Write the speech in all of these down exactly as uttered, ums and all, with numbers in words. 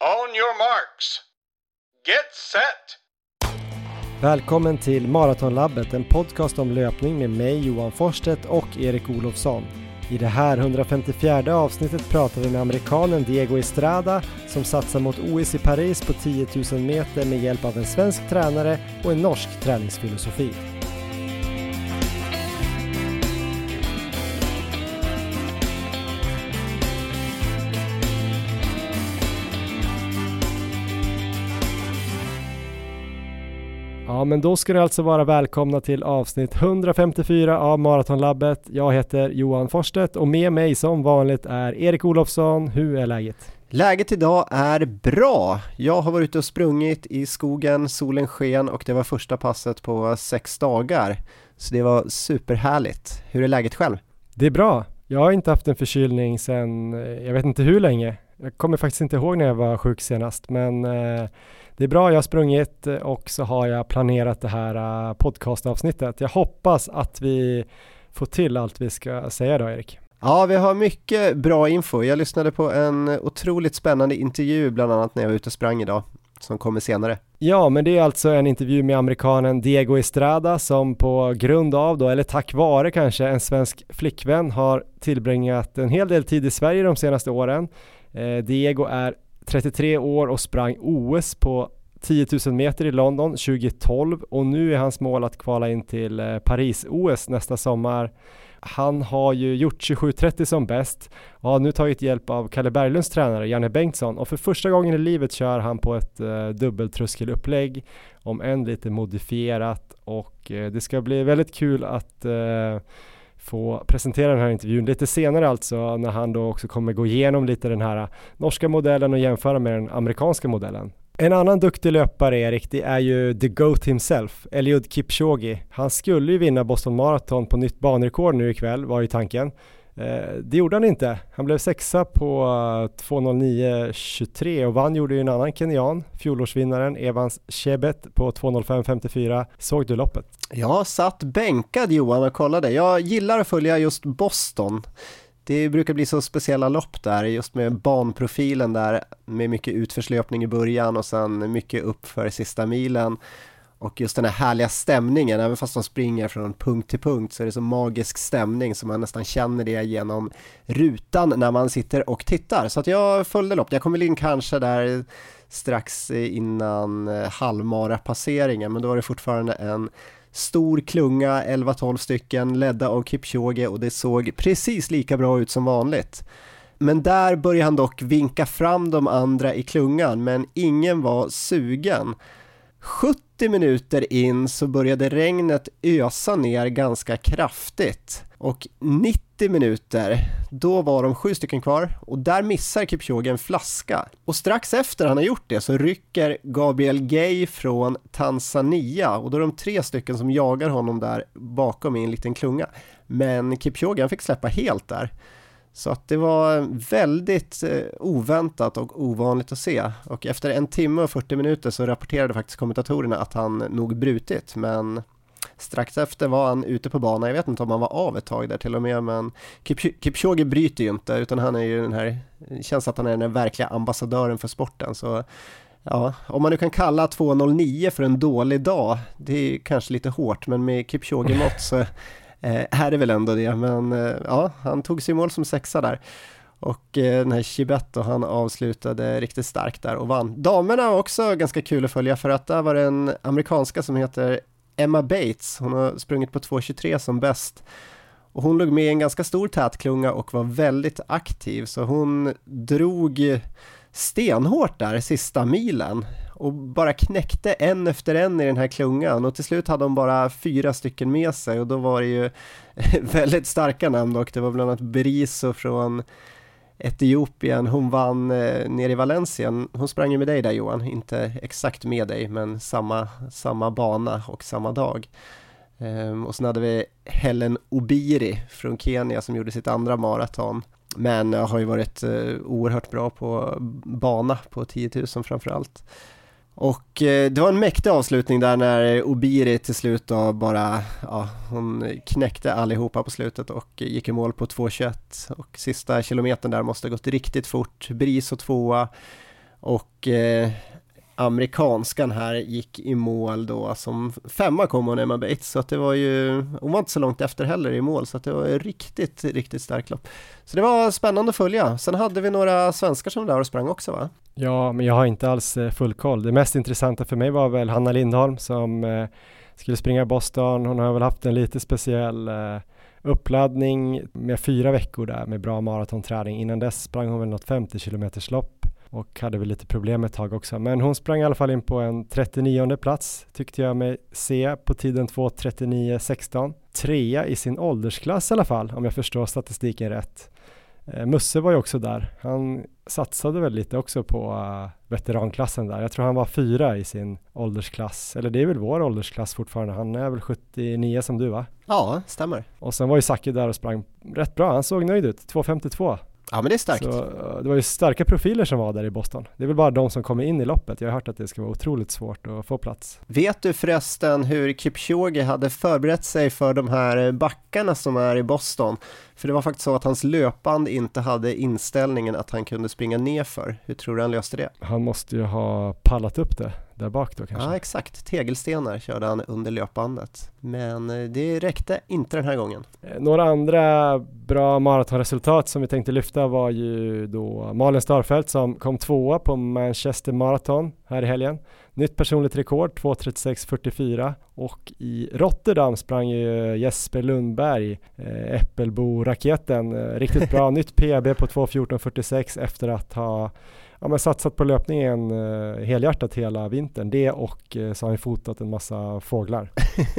On your marks. Get set! Välkommen till Maratonlabbet, en podcast om löpning med mig Johan Forsstedt och Erik Olofsson. I det här hundrafemtiofjärde avsnittet pratar vi med amerikanen Diego Estrada som satsar mot O S i Paris på tio tusen meter med hjälp av en svensk tränare och en norsk träningsfilosofi. Ja, men då ska ni alltså vara välkomna till avsnitt hundrafemtiofyra av Maratonlabbet. Jag heter Johan Forsstedt och med mig som vanligt är Erik Olofsson. Hur är läget? Läget idag är bra. Jag har varit ute och sprungit i skogen, solen sken och det var första passet på sex dagar. Så det var superhärligt. Hur är läget själv? Det är bra. Jag har inte haft en förkylning sedan, jag vet inte hur länge. Jag kommer faktiskt inte ihåg när jag var sjuk senast, men eh, det är bra. Jag har sprungit och så har jag planerat det här podcastavsnittet. Jag hoppas att vi får till allt vi ska säga då, Erik. Ja, vi har mycket bra info. Jag lyssnade på en otroligt spännande intervju bland annat när jag var ute och sprang idag, som kommer senare. Ja, men det är alltså en intervju med amerikanen Diego Estrada som på grund av då, eller tack vare kanske, en svensk flickvän har tillbringat en hel del tid i Sverige de senaste åren. Eh, Diego är trettiotre år och sprang O S på tio tusen meter i London tjugohundratolv och nu är hans mål att kvala in till Paris-O S nästa sommar. Han har ju gjort tjugosju trettio som bäst och har nu tagit hjälp av Kalle Berglunds tränare Janne Bengtsson och för första gången i livet kör han på ett uh, dubbeltröskelupplägg, om än lite modifierat, och uh, det ska bli väldigt kul att uh, få presentera den här intervjun lite senare, alltså när han då också kommer gå igenom lite den här norska modellen och jämföra med den amerikanska modellen. En annan duktig löpare, Erik, det är ju the GOAT himself, Eliud Kipchoge. Han skulle ju vinna Boston Marathon på nytt banrekord nu ikväll, var ju tanken. Eh, det gjorde han inte. Han blev sexa på två noll nio tjugotre och vann gjorde ju en annan kenyan, fjolårsvinnaren Evans Chebet på två noll fem femtiofyra. Såg du loppet? Jag satt bänkad, Johan, och kollade. Jag gillar att följa just Boston. Det brukar bli så speciella lopp där, just med banprofilen där, med mycket utförslöpning i början och sen mycket upp för sista milen. Och just den här härliga stämningen, även fast de springer från punkt till punkt så är det så magisk stämning som man nästan känner det genom rutan när man sitter och tittar. Så att jag följde lopp. Jag kom väl in kanske där strax innan halvmara-passeringen, men då var det fortfarande en stor klunga, elva tolv stycken, ledda av Kipchoge, och det såg precis lika bra ut som vanligt. Men där började han dock vinka fram de andra i klungan, men ingen var sugen. sjuttio minuter in så började regnet ösa ner ganska kraftigt, och nittio minuter, då var de sju stycken kvar och där missar Kipchoge en flaska. Och strax efter han har gjort det så rycker Gabriel Gay från Tanzania, och då är de tre stycken som jagar honom där bakom i en liten klunga. Men Kipchoge, han fick släppa helt där. Så att det var väldigt eh, oväntat och ovanligt att se. Och efter en timme och fyrtio minuter så rapporterade faktiskt kommentatorerna att han nog brutit. Men strax efter var han ute på banan. Jag vet inte om han var av ett tag där till och med. Men Kip- Kipchoge bryter ju inte, utan han är ju den här, känns att han är den verkliga ambassadören för sporten. Så ja, om man nu kan kalla två noll nio för en dålig dag, det är kanske lite hårt. Men med Kipchoge-mått så Eh, här är väl ändå det, men eh, ja, han tog sig mål som sexa där. Och eh, den här Chibet, han avslutade riktigt starkt där och vann. Damerna var också ganska kul att följa, för att där var det en amerikanska som heter Emma Bates. Hon har sprungit på två tjugotre som bäst. Och hon låg med i en ganska stor tätklunga och var väldigt aktiv. Så hon drog stenhårt där sista milen och bara knäckte en efter en i den här klungan, och till slut hade de bara fyra stycken med sig, och då var det ju väldigt starka namn, och det var bland annat Beriso från Etiopien. Hon vann eh, nere i Valencia. Hon sprang ju med dig där, Johan, inte exakt med dig, men samma, samma bana och samma dag. Ehm, och sen hade vi Helen Obiri från Kenya som gjorde sitt andra maraton. Men jag har ju varit eh, oerhört bra på bana på tio tusen framförallt. Och eh, det var en mäktig avslutning där när Obiri till slut då bara, ja, hon knäckte allihopa på slutet och gick i mål på två tjugoett. Och sista kilometern där måste ha gått riktigt fort. Bris och tvåa. Och eh, amerikanskan här gick i mål då, som femma kom hon Emma Bates, så att det var ju, hon var inte så långt efter heller i mål, så att det var riktigt, riktigt starkt lopp. Så det var spännande att följa. Sen hade vi några svenskar som där och sprang också, va? Ja, men jag har inte alls full koll. Det mest intressanta för mig var väl Hanna Lindholm som eh, skulle springa i Boston. Hon har väl haft en lite speciell eh, uppladdning med fyra veckor där med bra maratonträning. Innan dess sprang hon väl något femtio kilometers lopp och hade väl lite problem ett tag också. Men hon sprang i alla fall in på en trettionionde plats, tyckte jag mig se, på tiden två trettionio sexton. Trea i sin åldersklass i alla fall, om jag förstår statistiken rätt. Eh, Musse var ju också där. Han satsade väl lite också på uh, veteranklassen där. Jag tror han var fyra i sin åldersklass. Eller det är väl vår åldersklass fortfarande. Han är väl sjuttionio som du, va? Ja, stämmer. Och sen var ju Zacke där och sprang rätt bra. Han såg nöjd ut. två femtiotvå. Ja, men det är starkt. Så, uh, det var ju starka profiler som var där i Boston. Det är väl bara de som kommer in i loppet. Jag har hört att det ska vara otroligt svårt att få plats. Vet du förresten hur Kipchoge hade förberett sig för de här backarna som är i Boston? För det var faktiskt så att hans löpband inte hade inställningen att han kunde springa nerför. Hur tror du han löste det? Han måste ju ha pallat upp det där bak då kanske. Ja, exakt. Tegelstenar körde han under löpbandet. Men det räckte inte den här gången. Några andra bra maratonresultat som vi tänkte lyfta var ju då Malin Starfelt som kom tvåa på Manchester Marathon här i helgen. Nytt personligt rekord, två trettiosex fyrtiofyra, och i Rotterdam sprang ju Jesper Lundberg, eh, Äppelbo-raketen, eh, riktigt bra, nytt P B på två fjorton fyrtiosex efter att ha ja, men satsat på löpningen eh, helhjärtat hela vintern. Det och eh, så har han fotat en massa fåglar.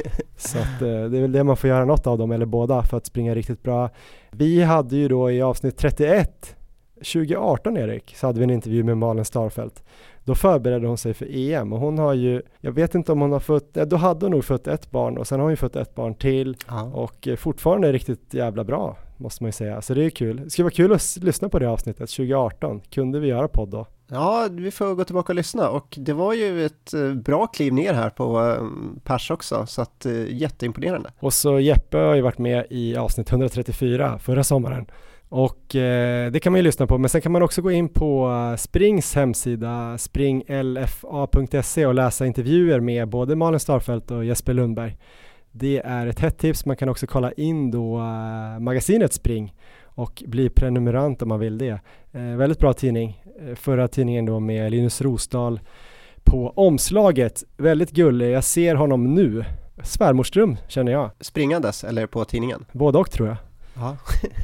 Så att, eh, det är väl det man får göra något av dem, eller båda, för att springa riktigt bra. Vi hade ju då i avsnitt trettioett tjugo arton, Erik, så hade vi en intervju med Malin Starfelt. Då förberedde hon sig för E M och hon har ju, jag vet inte om hon har fått, då hade hon nog fått ett barn och sen har hon ju fått ett barn till. Ja. Och fortfarande är riktigt jävla bra, måste man ju säga. Så det är kul. Det skulle vara kul att lyssna på det avsnittet tjugo arton. Kunde vi göra podd då? Ja, vi får gå tillbaka och lyssna, och det var ju ett bra kliv ner här på pers också, så att jätteimponerande. Och så Jeppe har ju varit med i avsnitt etthundratrettiofyra förra sommaren. Och eh, det kan man ju lyssna på, men sen kan man också gå in på uh, Springs hemsida spring l f a punkt se och läsa intervjuer med både Malin Starfelt och Jesper Lundberg. Det är ett hett tips. Man kan också kolla in då uh, magasinet Spring och bli prenumerant om man vill det. Eh, väldigt bra tidning. Eh, förra tidningen då med Linus Rosdahl på omslaget. Väldigt gullig. Jag ser honom nu. Svärmorsdröm känner jag. Springandes eller på tidningen? Både och tror jag. Ja.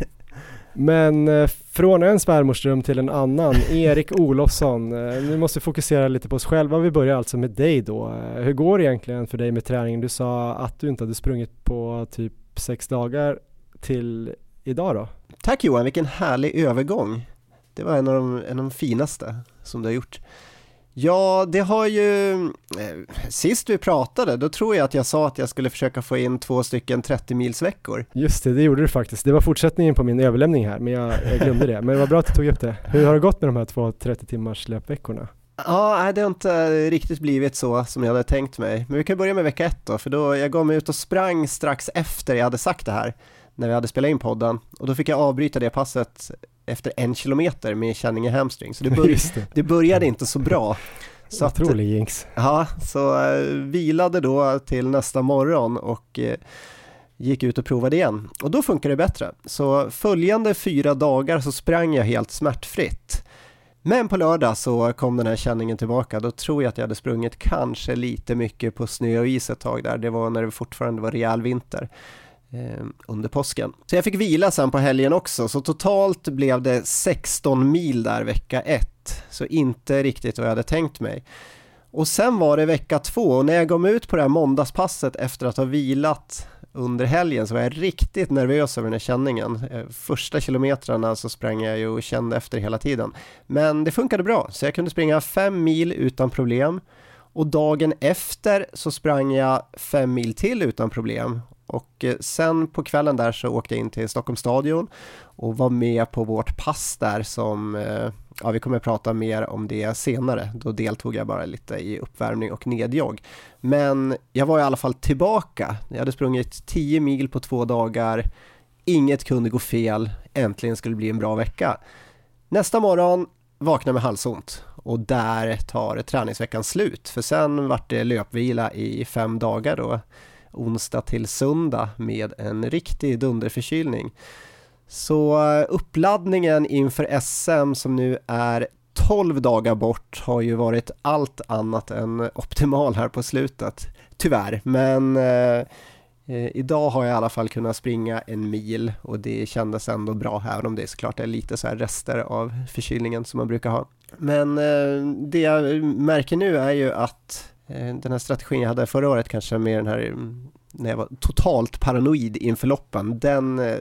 Men eh, från en svärmorsdröm till en annan, Erik Olofsson. Eh, nu måste vi fokusera lite på oss själva. Vi börjar alltså med dig då. Eh, hur går det egentligen för dig med träningen? Du sa att du inte hade sprungit på typ sex dagar till idag då. Tack Johan, vilken härlig övergång. Det var en av de, en av de finaste som du har gjort. Ja, det har ju, eh, sist vi pratade, då tror jag att jag sa att jag skulle försöka få in två stycken trettio mils veckor. Just det, det gjorde du faktiskt. Det var fortsättningen på min överlämning här, men jag, jag glömde det. Men det var bra att du tog upp det. Hur har det gått med de här två trettio timmars löpveckorna? Ja, det har inte riktigt blivit så som jag hade tänkt mig. Men vi kan börja med vecka ett då, för då jag gav mig ut och sprang strax efter jag hade sagt det här, när vi hade spelat in podden. Och då fick jag avbryta det passet efter en kilometer med känning i hamstring. Så det, börj- det. det började inte så bra. Så otrolig jinx. Ja, så uh, vilade då till nästa morgon och uh, gick ut och provade igen. Och då funkar det bättre. Så följande fyra dagar så sprang jag helt smärtfritt. Men på lördag så kom den här känningen tillbaka. Då tror jag att jag hade sprungit kanske lite mycket på snö och is ett tag där. Det var när det fortfarande var rejäl vinter eh, under påsken. Så jag fick vila sen på helgen också. Så totalt blev det sexton mil där vecka ett. Så inte riktigt vad jag hade tänkt mig. Och sen var det vecka två. Och när jag kom ut på det här måndagspasset efter att ha vilat under helgen så var jag riktigt nervös över den här känningen. Första kilometrarna så sprang jag ju och kände efter hela tiden. Men det funkade bra, så jag kunde springa fem mil utan problem. Och dagen efter så sprang jag fem mil till utan problem. Och sen på kvällen där så åkte jag in till Stockholms stadion och var med på vårt pass där som, ja, vi kommer att prata mer om det senare. Då deltog jag bara lite i uppvärmning och nedjogg. Men jag var i alla fall tillbaka. Jag hade sprungit tio mil på två dagar. Inget kunde gå fel. Äntligen skulle det bli en bra vecka. Nästa morgon vaknade med halsont och där tar träningsveckan slut. För sen vart det löpvila i fem dagar då, onsdag till söndag med en riktig dunderförkylning. Så uppladdningen inför S M som nu är tolv dagar bort har ju varit allt annat än optimal här på slutet. Tyvärr, men eh, idag har jag i alla fall kunnat springa en mil och det kändes ändå bra, även om det är såklart är lite så här rester av förkylningen som man brukar ha. Men eh, det jag märker nu är ju att eh, den här strategin jag hade förra året, kanske med den här när jag var totalt paranoid inför loppen, den eh,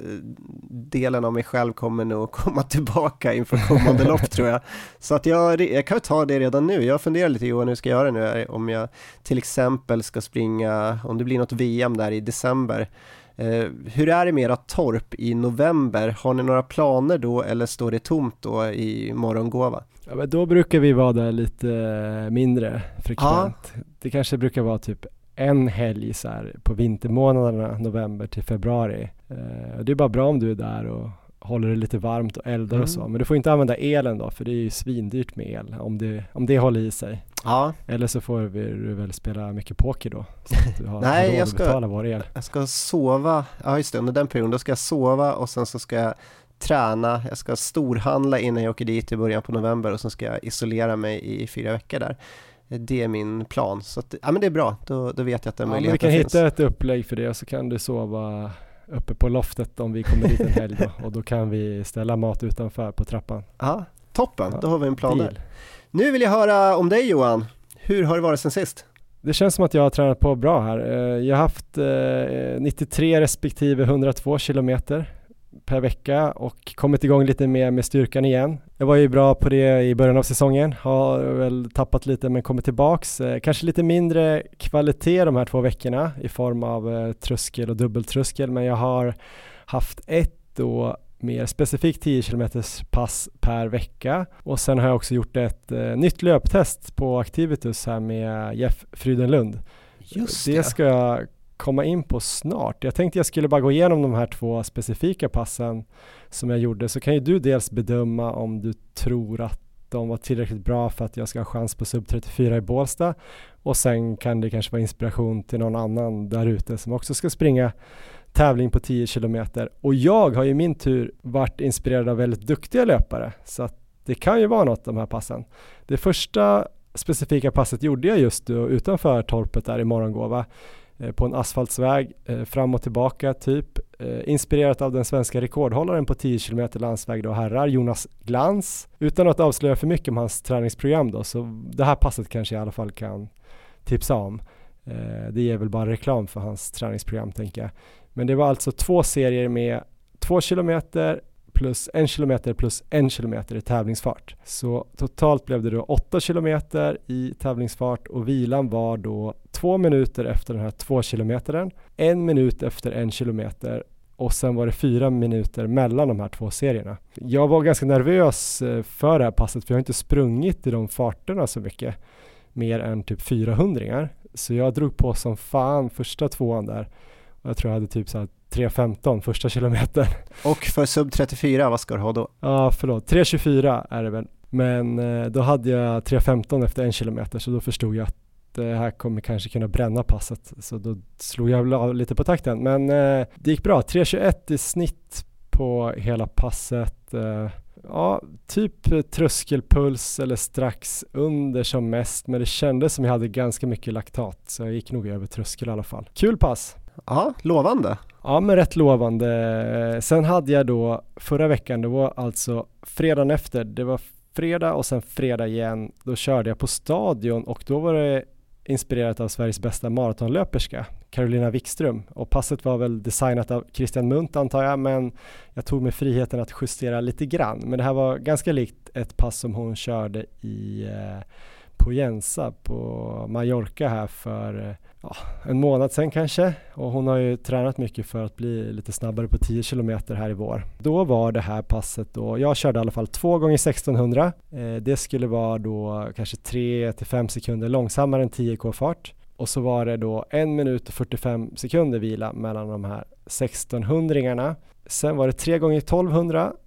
delen av mig själv kommer nog komma tillbaka inför kommande lopp tror jag. Så att jag, jag kan ta det redan nu. Jag funderar lite Johan, hur ska jag göra nu? Om jag till exempel ska springa, om det blir något V M där i december. Eh, hur är det med era torp i november? Har ni några planer då eller står det tomt då i Morgongåva? Ja, men då brukar vi vara där lite mindre frekvent. Ja. Det kanske brukar vara typ en helg så här på vintermånaderna, november till februari. Eh, det är bara bra om du är där och håller det lite varmt och eldar mm. och så. Men du får inte använda elen då, för det är ju svindyrt med el om det, om det håller i sig. Ja. Eller så får vi, du väl spela mycket poker då. Så att du har Nej, jag ska, betala vår el. jag ska sova. Ja just det, under den perioden då ska jag sova och sen så ska jag träna. Jag ska storhandla innan jag åker dit i början på november och sen ska jag isolera mig i fyra veckor där. Det är min plan. Så att, ja, men det är bra. Då, då vet jag att den ja, möjligheten finns. Vi kan finns. hitta ett upplägg för det och så kan du sova uppe på loftet om vi kommer dit en helg då. Och då kan vi ställa mat utanför på trappan. Ja, toppen. Ja, då har vi en plan deal. där. Nu vill jag höra om dig Johan. Hur har det varit sen sist? Det känns som att jag har tränat på bra här. Jag har haft nittiotre respektive hundratvå kilometer per vecka och kommit igång lite mer med styrkan igen. Jag var ju bra på det i början av säsongen, har väl tappat lite men kommit tillbaks. Eh, kanske lite mindre kvalitet de här två veckorna i form av eh, tröskel och dubbeltröskel, men jag har haft ett då mer specifikt tio kilometers pass per vecka och sen har jag också gjort ett eh, nytt löptest på Activitus här med Jeff Frydenlund. Just det. Det ska jag komma in på snart. Jag tänkte jag skulle bara gå igenom de här två specifika passen som jag gjorde, så kan ju du dels bedöma om du tror att de var tillräckligt bra för att jag ska ha chans på sub trettiofyra i Bålsta, och sen kan det kanske vara inspiration till någon annan där ute som också ska springa tävling på tio kilometer. Och jag har i min tur varit inspirerad av väldigt duktiga löpare, så att det kan ju vara något de här passen. Det första specifika passet gjorde jag just då, utanför torpet där i Morgongåva på en asfaltsväg eh, fram och tillbaka typ, eh, inspirerat av den svenska rekordhållaren på tio kilometer landsväg då, herrar, Jonas Glans, utan att avslöja för mycket om hans träningsprogram då, så det här passet kanske jag i alla fall kan tipsa om. Eh, det ger väl bara reklam för hans träningsprogram tänker jag. Men det var alltså två serier med två kilometer plus en kilometer plus en kilometer i tävlingsfart. Så totalt blev det då åtta kilometer i tävlingsfart och vilan var då två minuter efter den här två kilometern, en minut efter en kilometer och sen var det fyra minuter mellan de här två serierna. Jag var ganska nervös för det här passet för jag har inte sprungit i de farterna så mycket, mer än typ fyrahundringar. Så jag drog på som fan första tvåan där och jag tror jag hade typ så här tre femton första kilometer. Och för sub trettiofyra, vad ska du ha då? Ja, förlåt. tre tjugofyra är det väl. Men eh, då hade jag tre femton efter en kilometer, så då förstod jag att det här kommer kanske kunna bränna passet. Så då slog jag av lite på takten. Men eh, det gick bra. tre tjugoett i snitt på hela passet. Eh, ja, typ tröskelpuls eller strax under som mest. Men det kändes som jag hade ganska mycket laktat. Så jag gick nog över tröskel i alla fall. Kul pass. Ja, lovande. Ja, men rätt lovande. Sen hade jag då förra veckan, det var alltså fredagen efter, det var fredag och sen fredag igen, då körde jag på stadion och då var det inspirerat av Sveriges bästa maratonlöperska, Carolina Wikström, och passet var väl designat av Christian Munt antar jag, men jag tog mig friheten att justera lite grann, men det här var ganska likt ett pass som hon körde i eh, på Jensa på Mallorca här för ja, en månad sedan kanske, och hon har ju tränat mycket för att bli lite snabbare på tio kilometer här i vår. Då var det här passet då, jag körde i alla fall två gånger sextonhundra, eh, det skulle vara då kanske tre till fem sekunder långsammare än tio kilometer fart, och så var det då en minut och fyrtiofem sekunder vila mellan de här sextonhundringarna. Sen var det tre gånger tolvhundra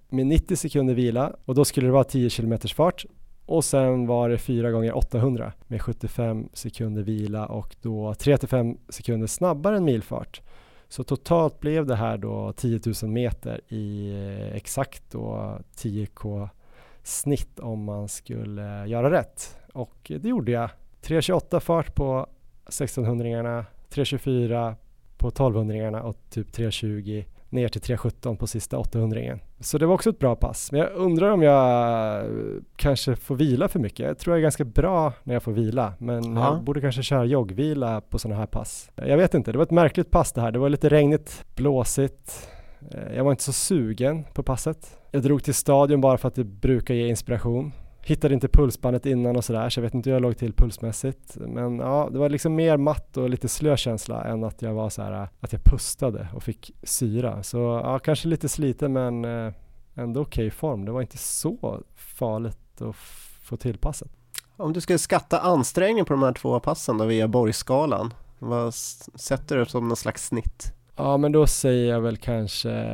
med nittio sekunder vila och då skulle det vara tio kilometers fart. Och sen var det fyra gånger åttahundra med sjuttiofem sekunder vila och då tre till fem sekunder snabbare än milfart. Så totalt blev det här då tio tusen meter i exakt då tio kilometer snitt om man skulle göra rätt. Och det gjorde jag. tre tjugoåtta fart på sextonhundringarna, tre tjugofyra på tolvhundringarna och typ tre tjugo ner till tre sjutton på sista åttahundringen. Så det var också ett bra pass. Men jag undrar om jag kanske får vila för mycket. Jag tror jag är ganska bra när jag får vila. Men ja. Jag borde kanske köra joggvila på sådana här pass. Jag vet inte, det var ett märkligt pass det här. Det var lite regnigt, blåsigt. Jag var inte så sugen på passet. Jag drog till stadion bara för att det brukar ge inspiration. Hittade inte pulsbandet innan och sådär, så jag vet inte hur jag låg till pulsmässigt. Men ja, det var liksom mer matt och lite slökänsla än att jag var så här, att jag pustade och fick syra. Så ja, kanske lite sliten men eh, ändå okej form. Det var inte så farligt att f- få till passet. Om du skulle skatta ansträngning på de här två passen då via Borgskalan, vad sätter du som någon slags snitt? Ja, men då säger jag väl kanske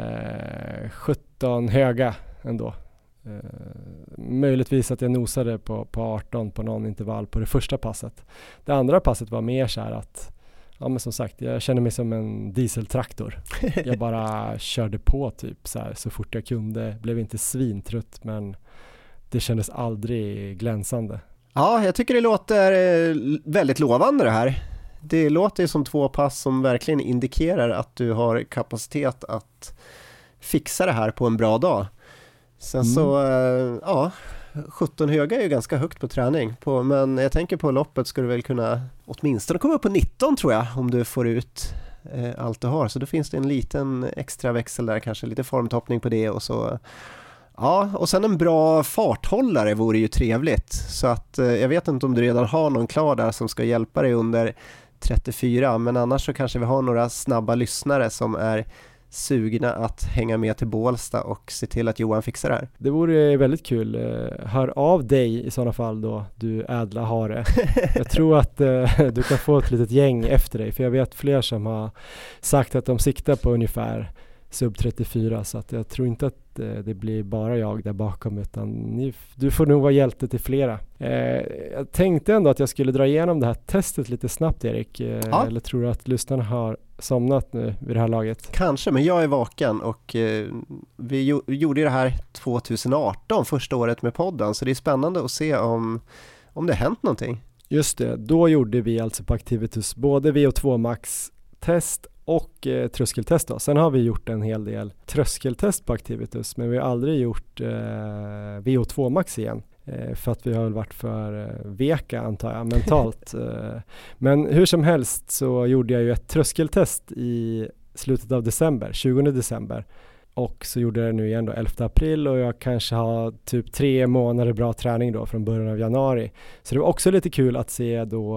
sjutton höga ändå. Uh, möjligtvis att jag nosade på, på arton på någon intervall på det första passet. Det andra passet var mer så här att, ja men som sagt, jag kände mig som en dieseltraktor. Jag bara körde på typ så här, så fort jag kunde. Blev inte svintrött men det kändes aldrig glänsande. Ja, jag tycker det låter väldigt lovande det här. Det låter som två pass som verkligen indikerar att du har kapacitet att fixa det här på en bra dag. Sen mm. så, ja, sjutton höga är ju ganska högt på träning. På, men jag tänker på loppet ska du väl kunna åtminstone komma upp på nitton tror jag, om du får ut eh, allt du har. Så då finns det en liten extra växel där, kanske lite formtoppning på det och så. Ja, och sen en bra farthållare vore ju trevligt. Så att eh, jag vet inte om du redan har någon klar där som ska hjälpa dig under trettiofyra. Men annars så kanske vi har några snabba lyssnare som är sugna att hänga med till Bålsta och se till att Johan fixar det här. Det vore väldigt kul. Hör av dig i sådana fall då, du ädla hare. Jag tror att uh, du kan få ett litet gäng efter dig, för jag vet fler som har sagt att de siktar på ungefär sub trettiofyra, så att jag tror inte att uh, det blir bara jag där bakom, utan ni, du får nog vara hjälte till flera. Uh, jag tänkte ändå att jag skulle dra igenom det här testet lite snabbt, Erik. Uh, ja. Eller tror du att lyssnarna har somnat nu vid det här laget? Kanske, men jag är vaken och eh, vi jo- gjorde det här tjugoarton, första året med podden, så det är spännande att se om, om det har hänt någonting. Just det, då gjorde vi alltså på Activitus både V O två Max-test och eh, tröskeltest då. Sen har vi gjort en hel del tröskeltest på Activitus, men vi har aldrig gjort eh, V O två Max igen. För att vi har väl varit för veka antar jag mentalt. Men hur som helst så gjorde jag ju ett tröskeltest i slutet av december, tjugonde december. Och så gjorde jag det nu igen då elfte april, och jag kanske har typ tre månader bra träning då från början av januari. Så det var också lite kul att se då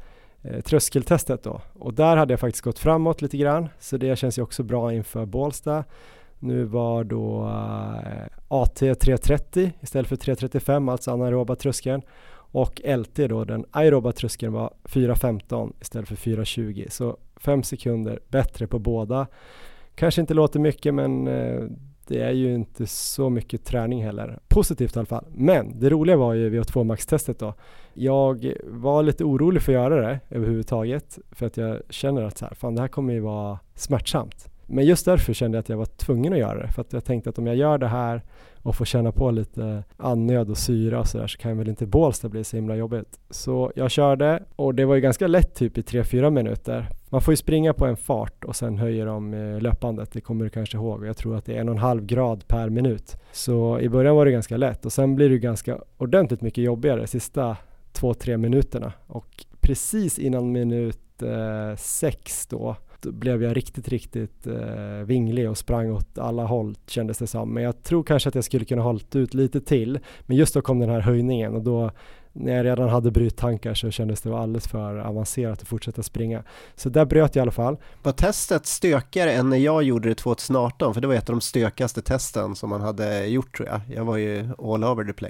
eh, tröskeltestet då. Och där hade jag faktiskt gått framåt lite grann, så det känns ju också bra inför Bålsta. Nu var då uh, A T tre trettio istället för tre trettiofem, alltså anaeroba tröskeln. Och L T då, den aeroba tröskeln, var fyra femton istället för fyra tjugo. Så fem sekunder bättre på båda. Kanske inte låter mycket, men uh, det är ju inte så mycket träning heller. Positivt i alla fall. Men det roliga var ju V O två Max-testet då. Jag var lite orolig för att göra det överhuvudtaget. För att jag känner att så här, fan, det här kommer ju vara smärtsamt. Men just därför kände jag att jag var tvungen att göra det. För att jag tänkte att om jag gör det här och får känna på lite annöd och syra och så där, så kan väl inte Bålsta bli så himla jobbigt. Så jag körde, och det var ju ganska lätt typ i tre fyra minuter. Man får ju springa på en fart och sen höjer de löpandet. Det kommer du kanske ihåg. Jag tror att det är en och en halv grad per minut. Så i början var det ganska lätt, och sen blir det ganska ordentligt mycket jobbigare sista två, tre minuterna. Och precis innan minut eh, sex då, då blev jag riktigt, riktigt eh, vinglig och sprang åt alla håll, kändes det som. Men jag tror kanske att jag skulle kunna hålla ut lite till. Men just då kom den här höjningen, och då när jag redan hade bryttankar så kändes det alldeles för avancerat att fortsätta springa. Så där bröt jag i alla fall. Var testet stökigare än när jag gjorde det tjugoarton? För det var ett av de stökigaste testen som man hade gjort, tror jag. Jag var ju all over the place.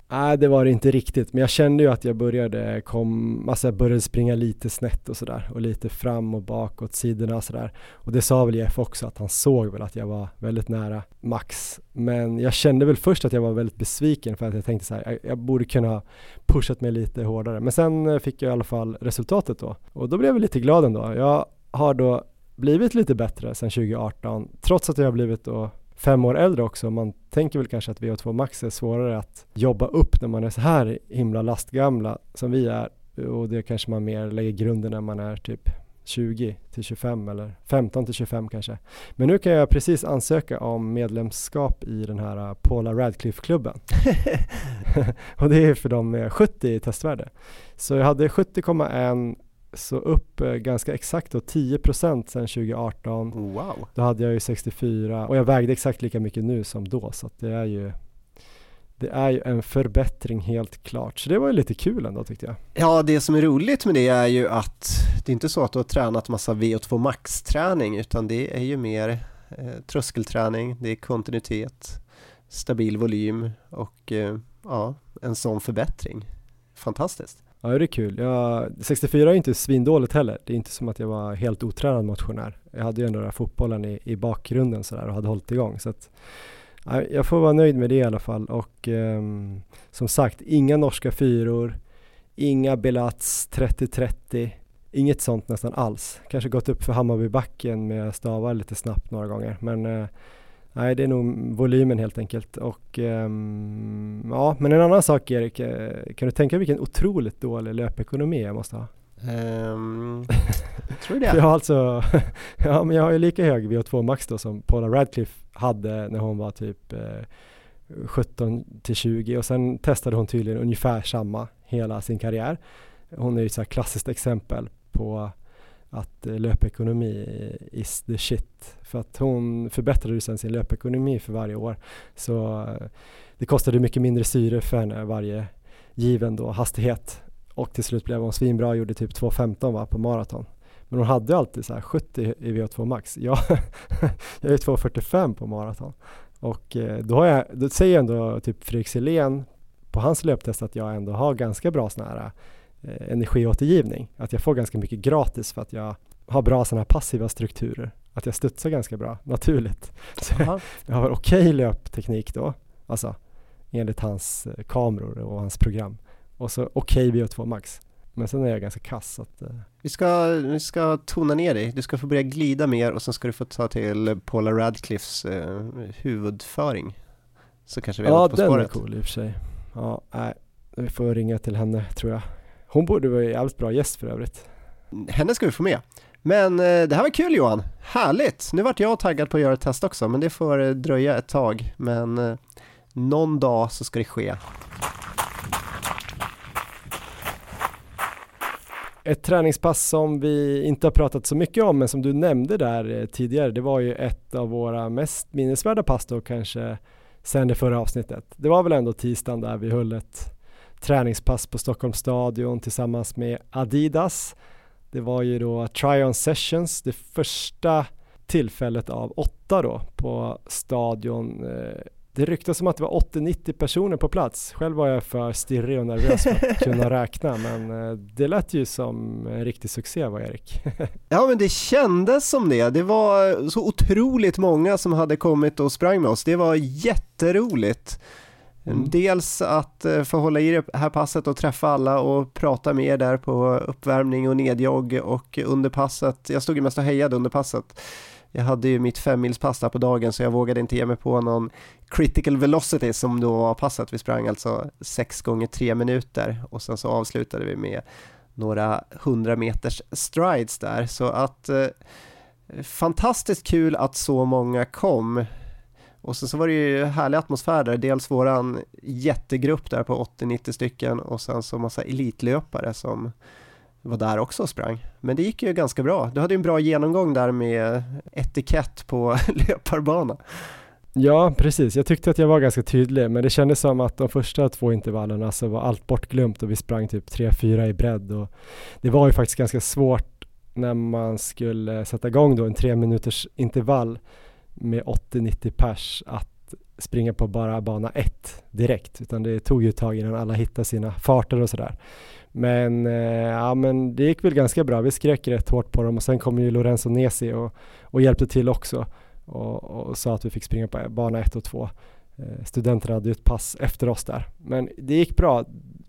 Nej, det var det inte riktigt. Men jag kände ju att jag började, kom, alltså jag började springa lite snett och sådär. Och lite fram och bak åt sidorna och sådär. Och det sa väl Jeff också, att han såg väl att jag var väldigt nära max. Men jag kände väl först att jag var väldigt besviken, för att jag tänkte så här, jag, jag borde kunna pushat mig lite hårdare. Men sen fick jag i alla fall resultatet då. Och då blev jag lite glad ändå. Jag har då blivit lite bättre sedan tjugo arton. Trots att jag har blivit då fem år äldre också. Man tänker väl kanske att V O två Max är svårare att jobba upp när man är så här himla lastgamla som vi är. Och det kanske man mer lägger grunden när man är typ tjugo till tjugofem eller femton till tjugofem kanske. Men nu kan jag precis ansöka om medlemskap i den här Paula Radcliffe-klubben. Och det är för dem med sjuttio i testvärde. Så jag hade sjuttio komma ett, så upp eh, ganska exakt då tio procent sedan tjugo arton. Wow. Då hade jag ju sextiofyra och jag vägde exakt lika mycket nu som då, så att det är ju det är ju en förbättring helt klart. Så det var ju lite kul ändå, tyckte jag. Ja, det som är roligt med det är ju att det är inte så att du har tränat massa V O två Max-träning, utan det är ju mer eh, tröskelträning, det är kontinuitet, stabil volym och eh, ja, en sån förbättring. Fantastiskt. Ja, det är kul. Jag, sextiofyra är inte svindåligt heller. Det är inte som att jag var helt otränad motionär. Jag hade ju ändå den här fotbollen i, i bakgrunden så där och hade hållit igång. Så att, ja, jag får vara nöjd med det i alla fall. Och um, som sagt, inga norska fyror, inga Belats trettio trettio, inget sånt nästan alls. Kanske gått upp för Hammarbybacken med stavar lite snabbt några gånger. Men uh, nej, det är nog volymen helt enkelt. Och um, ja, men en annan sak, Erik, kan du tänka vilken otroligt dålig löpekonomi jag måste ha? Um, tror du det? Jag har alltså, ja, men jag har ju lika hög V O två Max då som Paula Radcliffe hade när hon var typ eh, sjutton till tjugo, och sen testade hon tydligen ungefär samma hela sin karriär. Hon är ju ett så här klassiskt exempel på att eh, löpekonomi is the shit. För att hon förbättrade ju sen sin löpekonomi för varje år. Så eh, det kostade mycket mindre syre för henne varje given då hastighet. Och till slut blev hon svinbra och gjorde typ två femton va, på maraton. Men hon hade alltid så här sjuttio i V O två Max. Jag, jag är två fyrtiofem på maraton. Och eh, då, har jag, då säger ändå typ Fredrik Selén på hans löptest att jag ändå har ganska bra sån här eh, energiåtergivning. Att jag får ganska mycket gratis för att jag har bra såna här passiva strukturer. Att jag studsar ganska bra, naturligt. Så jag har okej okay löpteknik då. Alltså enligt hans eh, kameror och hans program. Och så okej okay V O två Max. Men sen är jag ganska kass. Att, uh... vi, ska, vi ska tona ner dig. Du ska få börja glida mer och sen ska du få ta till Paula Radcliffes uh, huvudföring. Så kanske vi har ja, något på spåret. Ja, den är cool i och för sig. Ja, nej. Vi får ringa till henne, tror jag. Hon borde vara en jävligt bra gäst för övrigt. Henne ska vi få med. Men uh, det här var kul, Johan. Härligt. Nu vart jag taggad på att göra ett test också. Men det får uh, dröja ett tag. Men uh, någon dag så ska det ske. Ett träningspass som vi inte har pratat så mycket om, men som du nämnde där tidigare, det var ju ett av våra mest minnesvärda pass då kanske sen det förra avsnittet. Det var väl ändå tisdagen där vi höll ett träningspass på Stockholms stadion tillsammans med Adidas. Det var ju då try-on sessions, det första tillfället av åtta då på stadion. Det ryktas som att det var åttio nittio personer på plats. Själv var jag för stirrig och nervös för att kunna räkna, men det lät ju som en riktig succé, var Erik. Ja, men det kändes som det. Det var så otroligt många som hade kommit och sprang med oss. Det var jätteroligt. Mm. Dels att få hålla i det här passet och träffa alla och prata med er där på uppvärmning och nedjogg och under passet. Jag stod ju mest och hejade under passet. Jag hade ju mitt femmilspass där på dagen, så jag vågade inte ge mig på någon critical velocity som då var passet. Vi sprang alltså sex gånger tre minuter och sen så avslutade vi med några hundra meters strides där. Så att eh, fantastiskt kul att så många kom. Och sen så var det ju härlig atmosfär där. Dels våran jättegrupp där på åttio nittio stycken och sen så massa elitlöpare som var där också och sprang. Men det gick ju ganska bra. Du hade ju en bra genomgång där med etikett på löparbana. Ja, precis. Jag tyckte att jag var ganska tydlig, men det kändes som att de första två intervallerna så var allt bortglömt och vi sprang typ tre fyra i bredd. Och det var ju faktiskt ganska svårt när man skulle sätta igång då en tre minuters intervall med åttio nittio pers att att springa på bara bana ett direkt, utan det tog ju ett tag innan alla hittade sina farter och sådär. Men, eh, ja, men det gick väl ganska bra. Vi skrek rätt hårt på dem och sen kom ju Lorenzo Nesi och, och hjälpte till också och, och sa att vi fick springa på bana ett och två. Eh, studenterna hade ju ett pass efter oss där. Men det gick bra.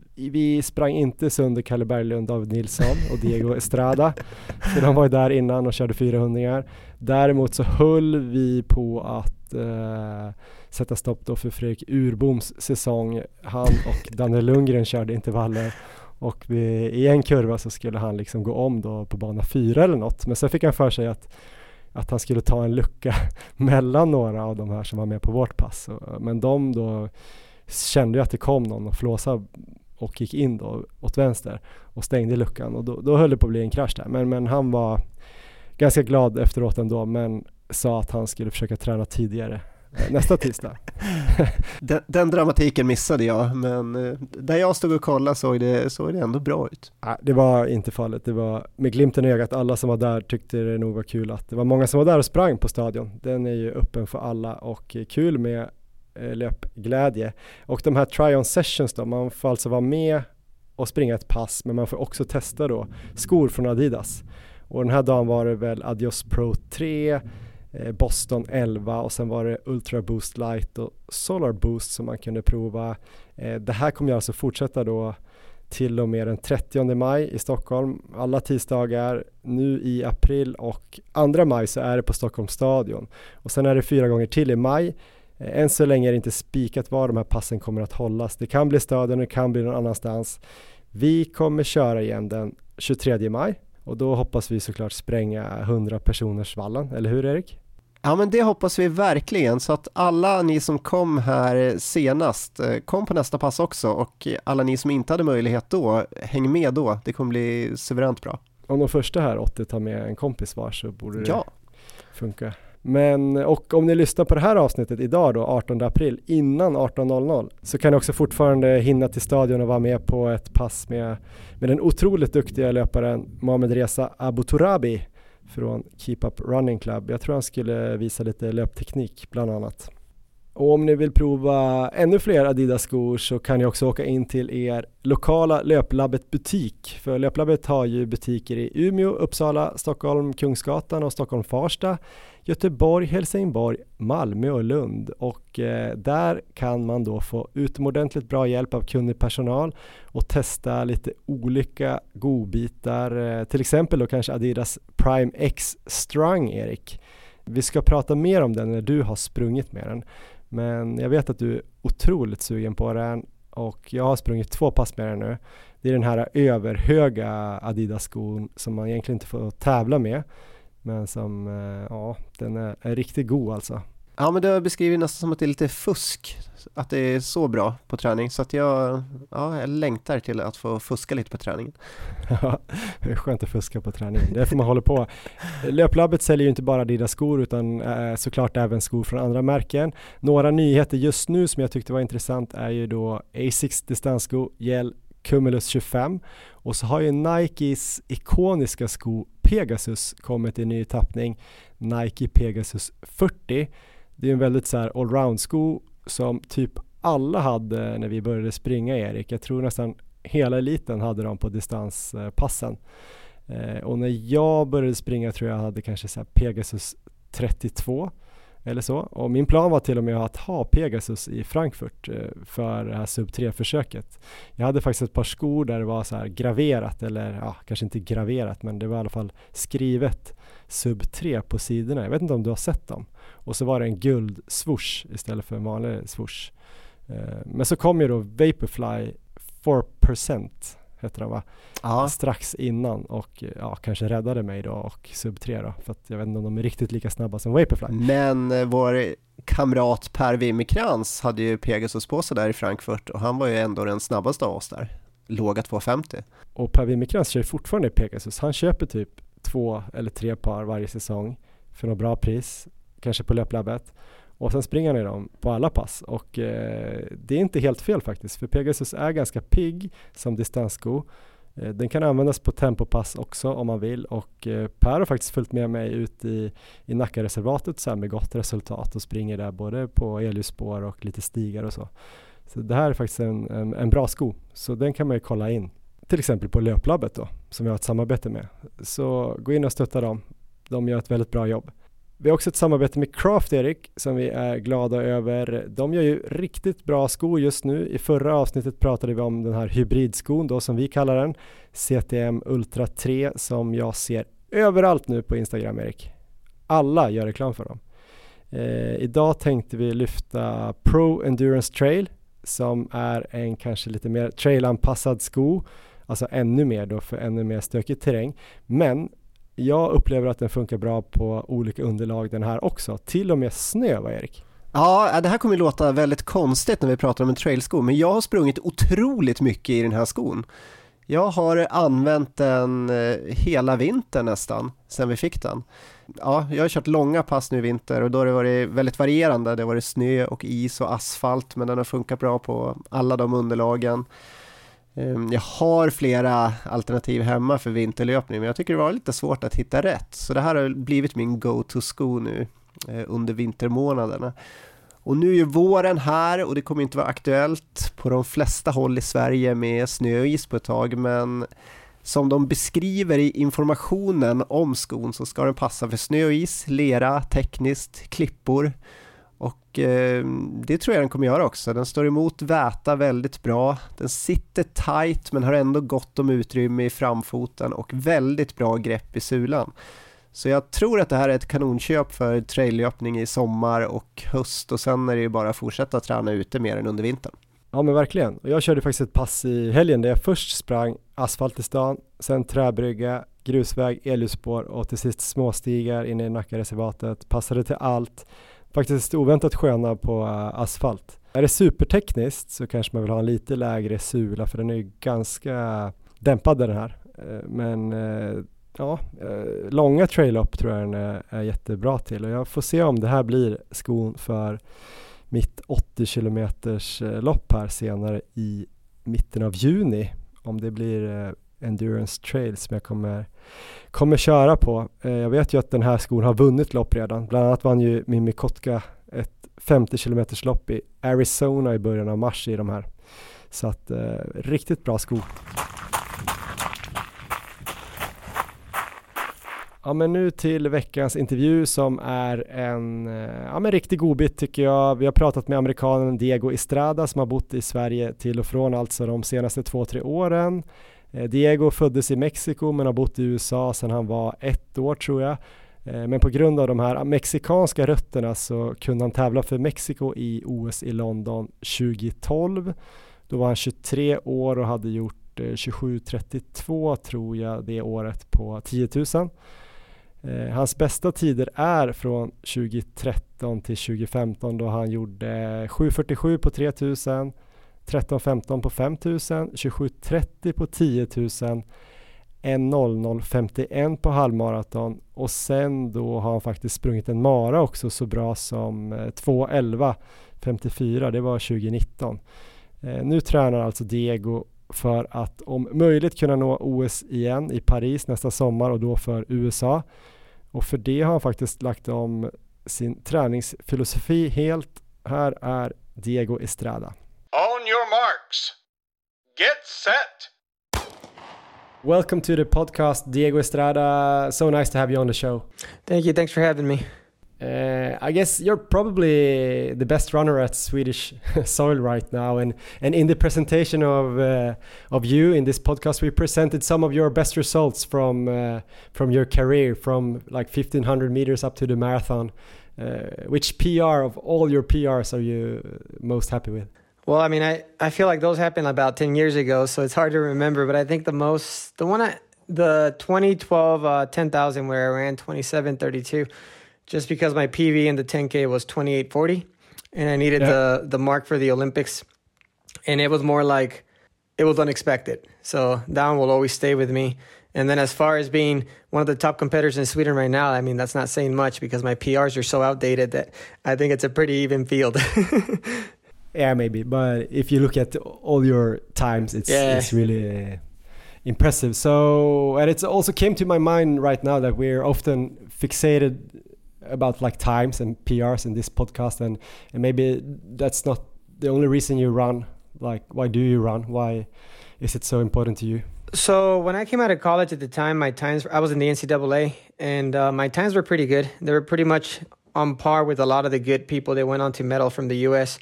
Vi sprang inte sönder Kalle Berglund, David Nilsson och Diego Estrada. För de var ju där innan och körde fyrahundringar. Däremot så höll vi på att eh, sätta stopp då för Fredrik Urboms säsong. Han och Daniel Lundgren körde intervaller. Och vi, i en kurva så skulle han liksom gå om då på bana fyra eller något. Men sen fick han för sig att, att han skulle ta en lucka mellan några av de här som var med på vårt pass. Men de då kände ju att det kom någon och flåsade och gick in då åt vänster och stängde luckan. Och då, då höll det på att bli en krasch där. Men, men han var ganska glad efteråt ändå, men sa att han skulle försöka träna tidigare nästa tisdag. den, den dramatiken missade jag, men eh, där jag stod och kollade såg det, såg det ändå bra ut. Ja, det var inte fallet. Det var med glimten i ögat. Alla som var där tyckte det nog var kul att det var många som var där och sprang på stadion. Den är ju öppen för alla och kul med eh, löpglädje. Och de här try-on sessions då, man får alltså vara med och springa ett pass, men man får också testa då skor från Adidas. Och den här dagen var det väl Adios Pro tre, Boston elva och sen var det Ultra Boost Light och Solar Boost som man kunde prova. Det här kommer jag alltså fortsätta då till och med den trettionde maj i Stockholm. Alla tisdagar nu i april och andra maj så är det på Stockholms stadion. Och sen är det fyra gånger till i maj. Än så länge är det inte spikat var de här passen kommer att hållas. Det kan bli stadion, det kan bli någon annanstans. Vi kommer köra igen den tjugotredje maj. Och då hoppas vi såklart spränga hundra personers vallen, eller hur Erik? Ja, men det hoppas vi verkligen, så att alla ni som kom här senast kom på nästa pass också, och alla ni som inte hade möjlighet då, häng med då, det kommer bli suveränt bra. Om de första här åttio tar med en kompis var så borde det ja. funka. Men, och om ni lyssnar på det här avsnittet idag då, artonde april, innan arton noll noll, så kan ni också fortfarande hinna till stadion och vara med på ett pass med, med den otroligt duktiga löparen Mohamed Reza Abuturabi från Keep Up Running Club. Jag tror han skulle visa lite löpteknik bland annat. Och om ni vill prova ännu fler Adidas-skor så kan ni också åka in till er lokala Löplabbet butik. För Löplabbet har ju butiker i Umeå, Uppsala, Stockholm, Kungsgatan och Stockholm Farsta, Göteborg, Helsingborg, Malmö och Lund. Och eh, där kan man då få utomordentligt bra hjälp av kunnig personal och testa lite olika godbitar. Eh, till exempel då kanske Adidas Prime X Strung, Erik. Vi ska prata mer om den när du har sprungit med den. Men jag vet att du är otroligt sugen på den och jag har sprungit två pass med den nu. Det är den här överhöga Adidas-skon som man egentligen inte får tävla med. Men som, ja, den är, är riktigt god alltså. Ja, men det har beskrivit nästan som att det är lite fusk, att det är så bra på träning, så att jag, ja, jag längtar till att få fuska lite på träningen. Ja, det är skönt att fuska på träningen, det är för man håller på. Löplabbet säljer ju inte bara Adidas skor utan eh, såklart även skor från andra märken. Några nyheter just nu som jag tyckte var intressant är ju då Asics distanssko Gel Cumulus tjugofem, och så har ju Nikes ikoniska sko Pegasus kommit i ny tappning, Nike Pegasus fyrtio. Det är en väldigt så här allround-sko som typ alla hade när vi började springa, Erik. Jag tror nästan hela eliten hade dem på distanspassen. Eh, och när jag började springa tror jag hade kanske så här Pegasus trettiotvå eller så. Och min plan var till och med att ha Pegasus i Frankfurt eh, för det här sub tre-försöket. Jag hade faktiskt ett par skor där det var så här graverat, eller ja, kanske inte graverat, men det var i alla fall skrivet sub tre på sidorna. Jag vet inte om du har sett dem. Och så var det en guld swoosh istället för en vanlig swoosh. Eh, men så kom ju då Vaporfly four percent heter den va? Ja. Strax innan och ja, kanske räddade mig då och sub tre då, för att jag vet inte om de är riktigt lika snabba som Vaporfly. Men eh, vår kamrat Per Wimmerkrans hade ju Pegasus på sig där i Frankfurt och han var ju ändå den snabbaste av oss där. Låga två femtio. Och Per Wimmerkrans kör fortfarande Pegasus. Han köper typ två eller tre par varje säsong för något bra pris, kanske på Löplabbet. Och sen springer ni dem på alla pass. Och eh, det är inte helt fel faktiskt. För Pegasus är ganska pigg som distanssko. Den kan användas på tempopass också om man vill, och Per har faktiskt följt med mig ut i, i Nackareservatet så här med gott resultat och springer där både på elljusspår och lite stigar och så. Så det här är faktiskt en, en, en bra sko, så den kan man ju kolla in. Till exempel på Löplabbet då, som vi har ett samarbete med. Så gå in och stötta dem. De gör ett väldigt bra jobb. Vi har också ett samarbete med Craft, Erik, som vi är glada över. De gör ju riktigt bra skor just nu. I förra avsnittet pratade vi om den här hybridskon då, som vi kallar den. C T M Ultra tre, som jag ser överallt nu på Instagram, Erik. Alla gör reklam för dem. Eh, idag tänkte vi lyfta Pro Endurance Trail, som är en kanske lite mer trailanpassad sko. Alltså ännu mer då för ännu mer stökig terräng. Men jag upplever att den funkar bra på olika underlag den här också. Till och med snö, va Erik? Ja, det här kommer att låta väldigt konstigt när vi pratar om en trailsko. Men jag har sprungit otroligt mycket i den här skon. Jag har använt den hela vintern nästan, sen vi fick den. Ja, jag har kört långa pass nu i vinter och då har det varit väldigt varierande. Det har varit snö och is och asfalt, men den har funkat bra på alla de underlagen. Jag har flera alternativ hemma för vinterlöpning, men jag tycker det var lite svårt att hitta rätt. Så det här har blivit min go-to-sko nu under vintermånaderna. Och nu är ju våren här och det kommer inte vara aktuellt på de flesta håll i Sverige med snö och is på ett tag, men som de beskriver i informationen om skon så ska den passa för snö och is, lera, tekniskt, klippor. Och eh, det tror jag den kommer göra också. Den står emot väta väldigt bra. Den sitter tight men har ändå gott om utrymme i framfoten och väldigt bra grepp i sulan. Så jag tror att det här är ett kanonköp för traillöpning i sommar och höst, och sen är det ju bara att fortsätta träna ute mer än under vintern. Ja men verkligen. Och jag körde faktiskt ett pass i helgen där jag först sprang asfalt i stan, sen träbrygga, grusväg, elljusspår och till sist småstigar inne i Nackareservatet. Passade till allt. Faktiskt oväntat sköna på asfalt. Är det supertekniskt så kanske man vill ha en lite lägre sula, för den är ju ganska dämpad den här. Men ja, långa trail-up tror jag den är, är jättebra till, och jag får se om det här blir skon för mitt åttio kilometers lopp här senare i mitten av juni, om det blir Endurance Trail som jag kommer, kommer köra på. Jag vet ju att den här skon har vunnit lopp redan. Bland annat vann ju Mimmi Kotka ett femtio kilometers lopp i Arizona i början av mars i de här. Så att eh, riktigt bra sko. Ja, men nu till veckans intervju som är en ja, men riktig godbit tycker jag. Vi har pratat med amerikanen Diego Estrada som har bott i Sverige till och från alltså de senaste två, tre åren. Diego föddes i Mexiko men har bott i U S A sedan han var ett år tror jag. Men på grund av de här mexikanska rötterna så kunde han tävla för Mexiko i O S i London tjugo tolv. Då var han tjugotre år och hade gjort tjugosju trettiotvå tror jag det året på tio tusen. Hans bästa tider är från tjugo tretton till tjugo femton då han gjorde sju fyrtiosju på tre tusen, tretton femton på fem tusen, tjugosju trettio på tio tusen, ett noll noll femtioett på halvmaraton, och sen då har han faktiskt sprungit en mara också så bra som två elva femtiofyra, det var tjugo nitton. Nu tränar alltså Diego för att om möjligt kunna nå O S igen i Paris nästa sommar, och då för U S A. Och för det har han faktiskt lagt om sin träningsfilosofi helt. Här är Diego Estrada. On your marks. Get set. Welcome to the podcast, Diego Estrada. So nice to have you on the show. Thank you. Thanks for having me. Uh, I guess you're probably the best runner at Swedish soil right now, and and in the presentation of uh, of you in this podcast, we presented some of your best results from uh, from your career, from like fifteen hundred meters up to the marathon. Uh, which P R of all your P Rs are you most happy with? Well, I mean, I, I feel like those happened about ten years ago, so it's hard to remember. But I think the most, the one, I, the twenty twelve uh, ten thousand where I ran twenty-seven thirty-two. Just because my P V in the ten K was twenty-eight forty, and I needed yeah. the the mark for the Olympics, and it was more like it was unexpected. So that one will always stay with me. And then as far as being one of the top competitors in Sweden right now, I mean, that's not saying much because my P Rs are so outdated that I think it's a pretty even field. Yeah, maybe. But if you look at all your times, it's yeah. it's really impressive. So, and it also came to my mind right now that we're often fixated about like times and P Rs in this podcast, and, and maybe that's not the only reason you run. Like, why do you run? Why is it so important to you? So when I came out of college at the time, my times, I was in the N C double A, and uh, my times were pretty good. They were pretty much on par with a lot of the good people that went on to medal from the U S.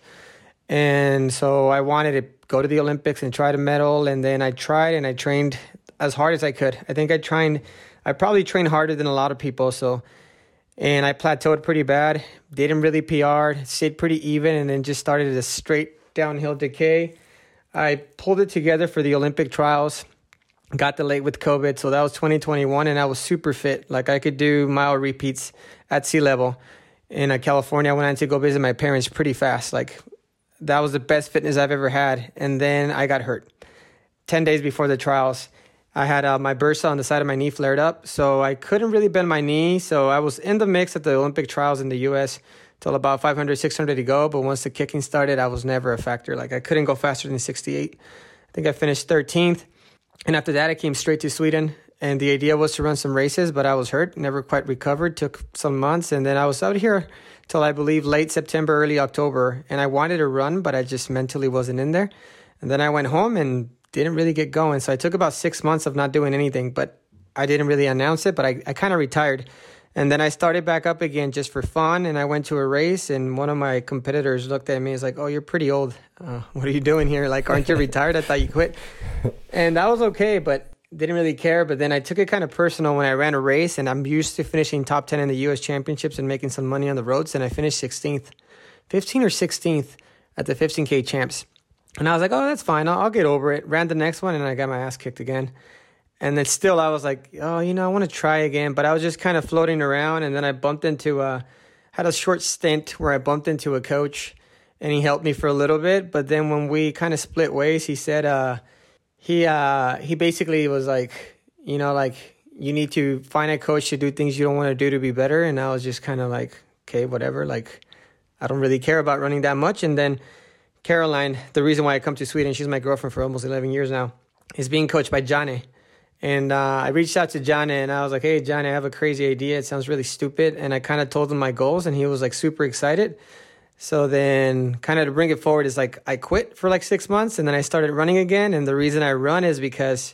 And so I wanted to go to the Olympics and try to medal. And then I tried and I trained as hard as I could. I think I trained, I probably trained harder than a lot of people. So, and I plateaued pretty bad, didn't really P R, stayed pretty even, and then just started a straight downhill decay. I pulled it together for the Olympic trials, got delayed with COVID. So that was twenty twenty-one, and I was super fit. Like I could do mile repeats at sea level. In uh, California, I went on to go visit my parents pretty fast. Like that was the best fitness I've ever had. And then I got hurt. ten days before the trials, I had uh, my bursa on the side of my knee flared up. So I couldn't really bend my knee. So I was in the mix at the Olympic trials in the U S till about five hundred, six hundred to go. But once the kicking started, I was never a factor. Like I couldn't go faster than sixty-eight. I think I finished thirteenth. And after that, I came straight to Sweden. And the idea was to run some races, but I was hurt, never quite recovered, took some months. And then I was out here till I believe late September, early October. And I wanted to run, but I just mentally wasn't in there. And then I went home and didn't really get going. So I took about six months of not doing anything, but I didn't really announce it, but I, I kind of retired. And then I started back up again just for fun. And I went to a race, and one of my competitors looked at me and was like, "Oh, you're pretty old. Uh, what are you doing here? Like, aren't you retired? I thought you quit." And that was okay, but didn't really care. But then I took it kind of personal when I ran a race, and I'm used to finishing top ten in the U S championships and making some money on the roads. And I finished sixteenth, fifteenth or sixteenth at the fifteen K champs. And I was like, oh, that's fine. I'll, I'll get over it. Ran the next one, and I got my ass kicked again. And then still I was like, oh, you know, I want to try again. But I was just kind of floating around. And then I bumped into, uh, had a short stint where I bumped into a coach, and he helped me for a little bit. But then when we kind of split ways, he said, uh, he, uh, he basically was like, you know, like, you need to find a coach to do things you don't want to do to be better. And I was just kind of like, okay, whatever. Like, I don't really care about running that much. And then Caroline, the reason why I come to Sweden, she's my girlfriend for almost eleven years now, is being coached by Janne. And uh, I reached out to Janne, and I was like, hey, Janne, I have a crazy idea. It sounds really stupid. And I kind of told him my goals, and he was like super excited. So then kind of to bring it forward is like I quit for like six months, and then I started running again. And the reason I run is because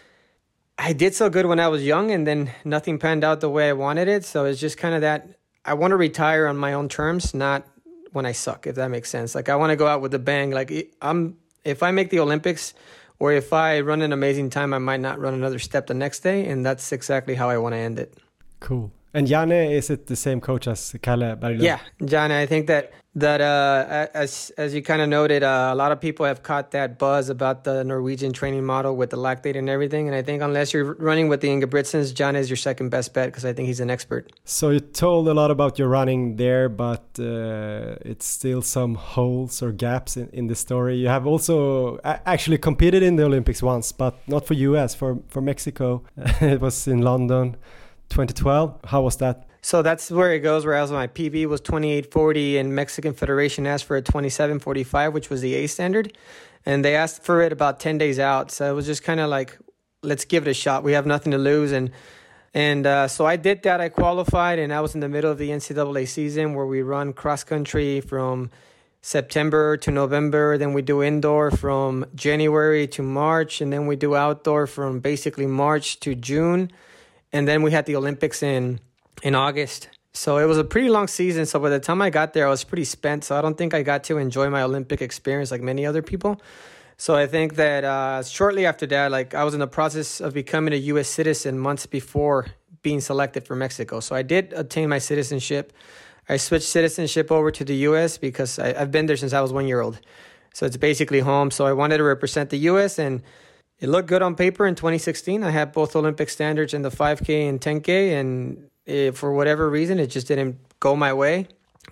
I did so good when I was young, and then nothing panned out the way I wanted it. So it's just kind of that I want to retire on my own terms, not when I suck, if that makes sense. Like I want to go out with a bang. Like I'm, if I make the Olympics, or if I run an amazing time, I might not run another step the next day. And that's exactly how I want to end it. Cool. And Janne, is it the same coach as Kalle Berglund? Yeah, Janne, I think that, that uh, as as you kind of noted, uh, a lot of people have caught that buzz about the Norwegian training model with the lactate and everything. And I think unless you're running with the Ingebrigtsens, Janne is your second best bet because I think he's an expert. So you told a lot about your running there, but uh, it's still some holes or gaps in, in the story. You have also actually competed in the Olympics once, but not for U S, for, for Mexico. It was in London. twenty twelve. How was that? So that's where it goes, where I was, my P B was twenty-eight forty, and Mexican Federation asked for a twenty-seven forty-five, which was the A standard. And they asked for it about ten days out. So it was just kind of like, let's give it a shot. We have nothing to lose. And and uh, so I did that. I qualified, and I was in the middle of the N C double A season where we run cross country from September to November. Then we do indoor from January to March. And then we do outdoor from basically March to June. And then we had the Olympics in in August. So it was a pretty long season. So by the time I got there, I was pretty spent. So I don't think I got to enjoy my Olympic experience like many other people. So I think that uh, shortly after that, like I was in the process of becoming a U S citizen months before being selected for Mexico. So I did obtain my citizenship. I switched citizenship over to the U S because I, I've been there since I was one year old. So it's basically home. So I wanted to represent the U S, and it looked good on paper in twenty sixteen. I had both Olympic standards in the five K and ten K, and it, for whatever reason, it just didn't go my way.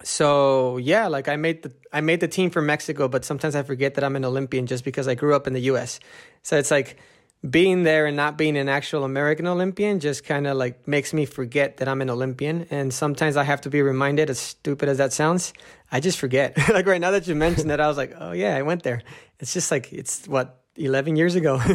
So yeah, like I made the I made the team for Mexico, but sometimes I forget that I'm an Olympian just because I grew up in the U S. So it's like being there and not being an actual American Olympian just kind of like makes me forget that I'm an Olympian. And sometimes I have to be reminded, as stupid as that sounds, I just forget. Like right now that you mentioned that, I was like, oh yeah, I went there. It's just like, it's what, eleven years ago.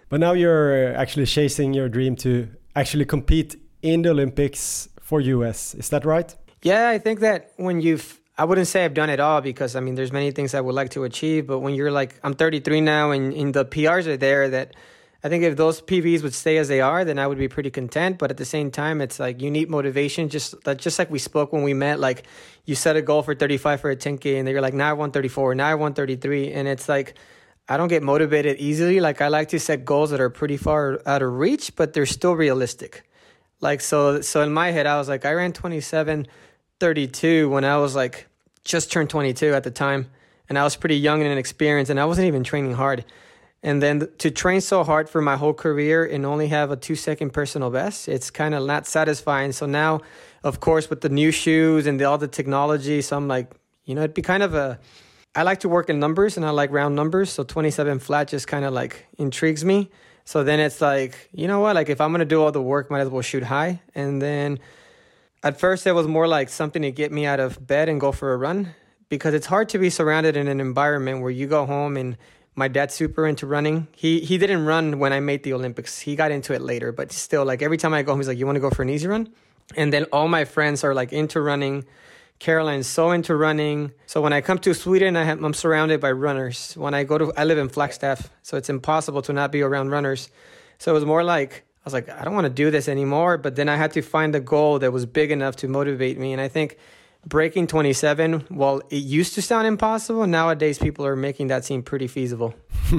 But now you're actually chasing your dream to actually compete in the Olympics for U S. Is that right? Yeah, I think that when you've, I wouldn't say I've done it all because, I mean, there's many things I would like to achieve. But when you're like, I'm thirty-three now and, and the P Rs are there, that I think if those P Vs would stay as they are, then I would be pretty content. But at the same time, it's like you need motivation. Just like, just like we spoke when we met, like you set a goal for thirty-five for a ten K and then you're like, now I want thirty-four, now I want thirty-three. And it's like, I don't get motivated easily. Like I like to set goals that are pretty far out of reach, but they're still realistic. Like, so, so in my head, I was like, I ran twenty-seven thirty-two when I was like, just turned twenty-two at the time. And I was pretty young and inexperienced and I wasn't even training hard. And then to train so hard for my whole career and only have a two second personal best, it's kind of not satisfying. So now, of course, with the new shoes and the, all the technology, so I'm like, you know, it'd be kind of a, I like to work in numbers and I like round numbers. So twenty-seven flat just kind of like intrigues me. So then it's like, you know what, like if I'm going to do all the work, might as well shoot high. And then at first it was more like something to get me out of bed and go for a run because it's hard to be surrounded in an environment where you go home and my dad's super into running. He he didn't run when I made the Olympics. He got into it later, but still, like every time I go home, he's like, you want to go for an easy run? And then all my friends are like into running. Caroline's so into running. So when I come to Sweden, I have, I'm surrounded by runners. When I go to, I live in Flagstaff, so it's impossible to not be around runners. So it was more like, I was like, I don't want to do this anymore. But then I had to find a goal that was big enough to motivate me. And I think breaking twenty-seven, well, it used to sound impossible. Nowadays, people are making that seem pretty feasible.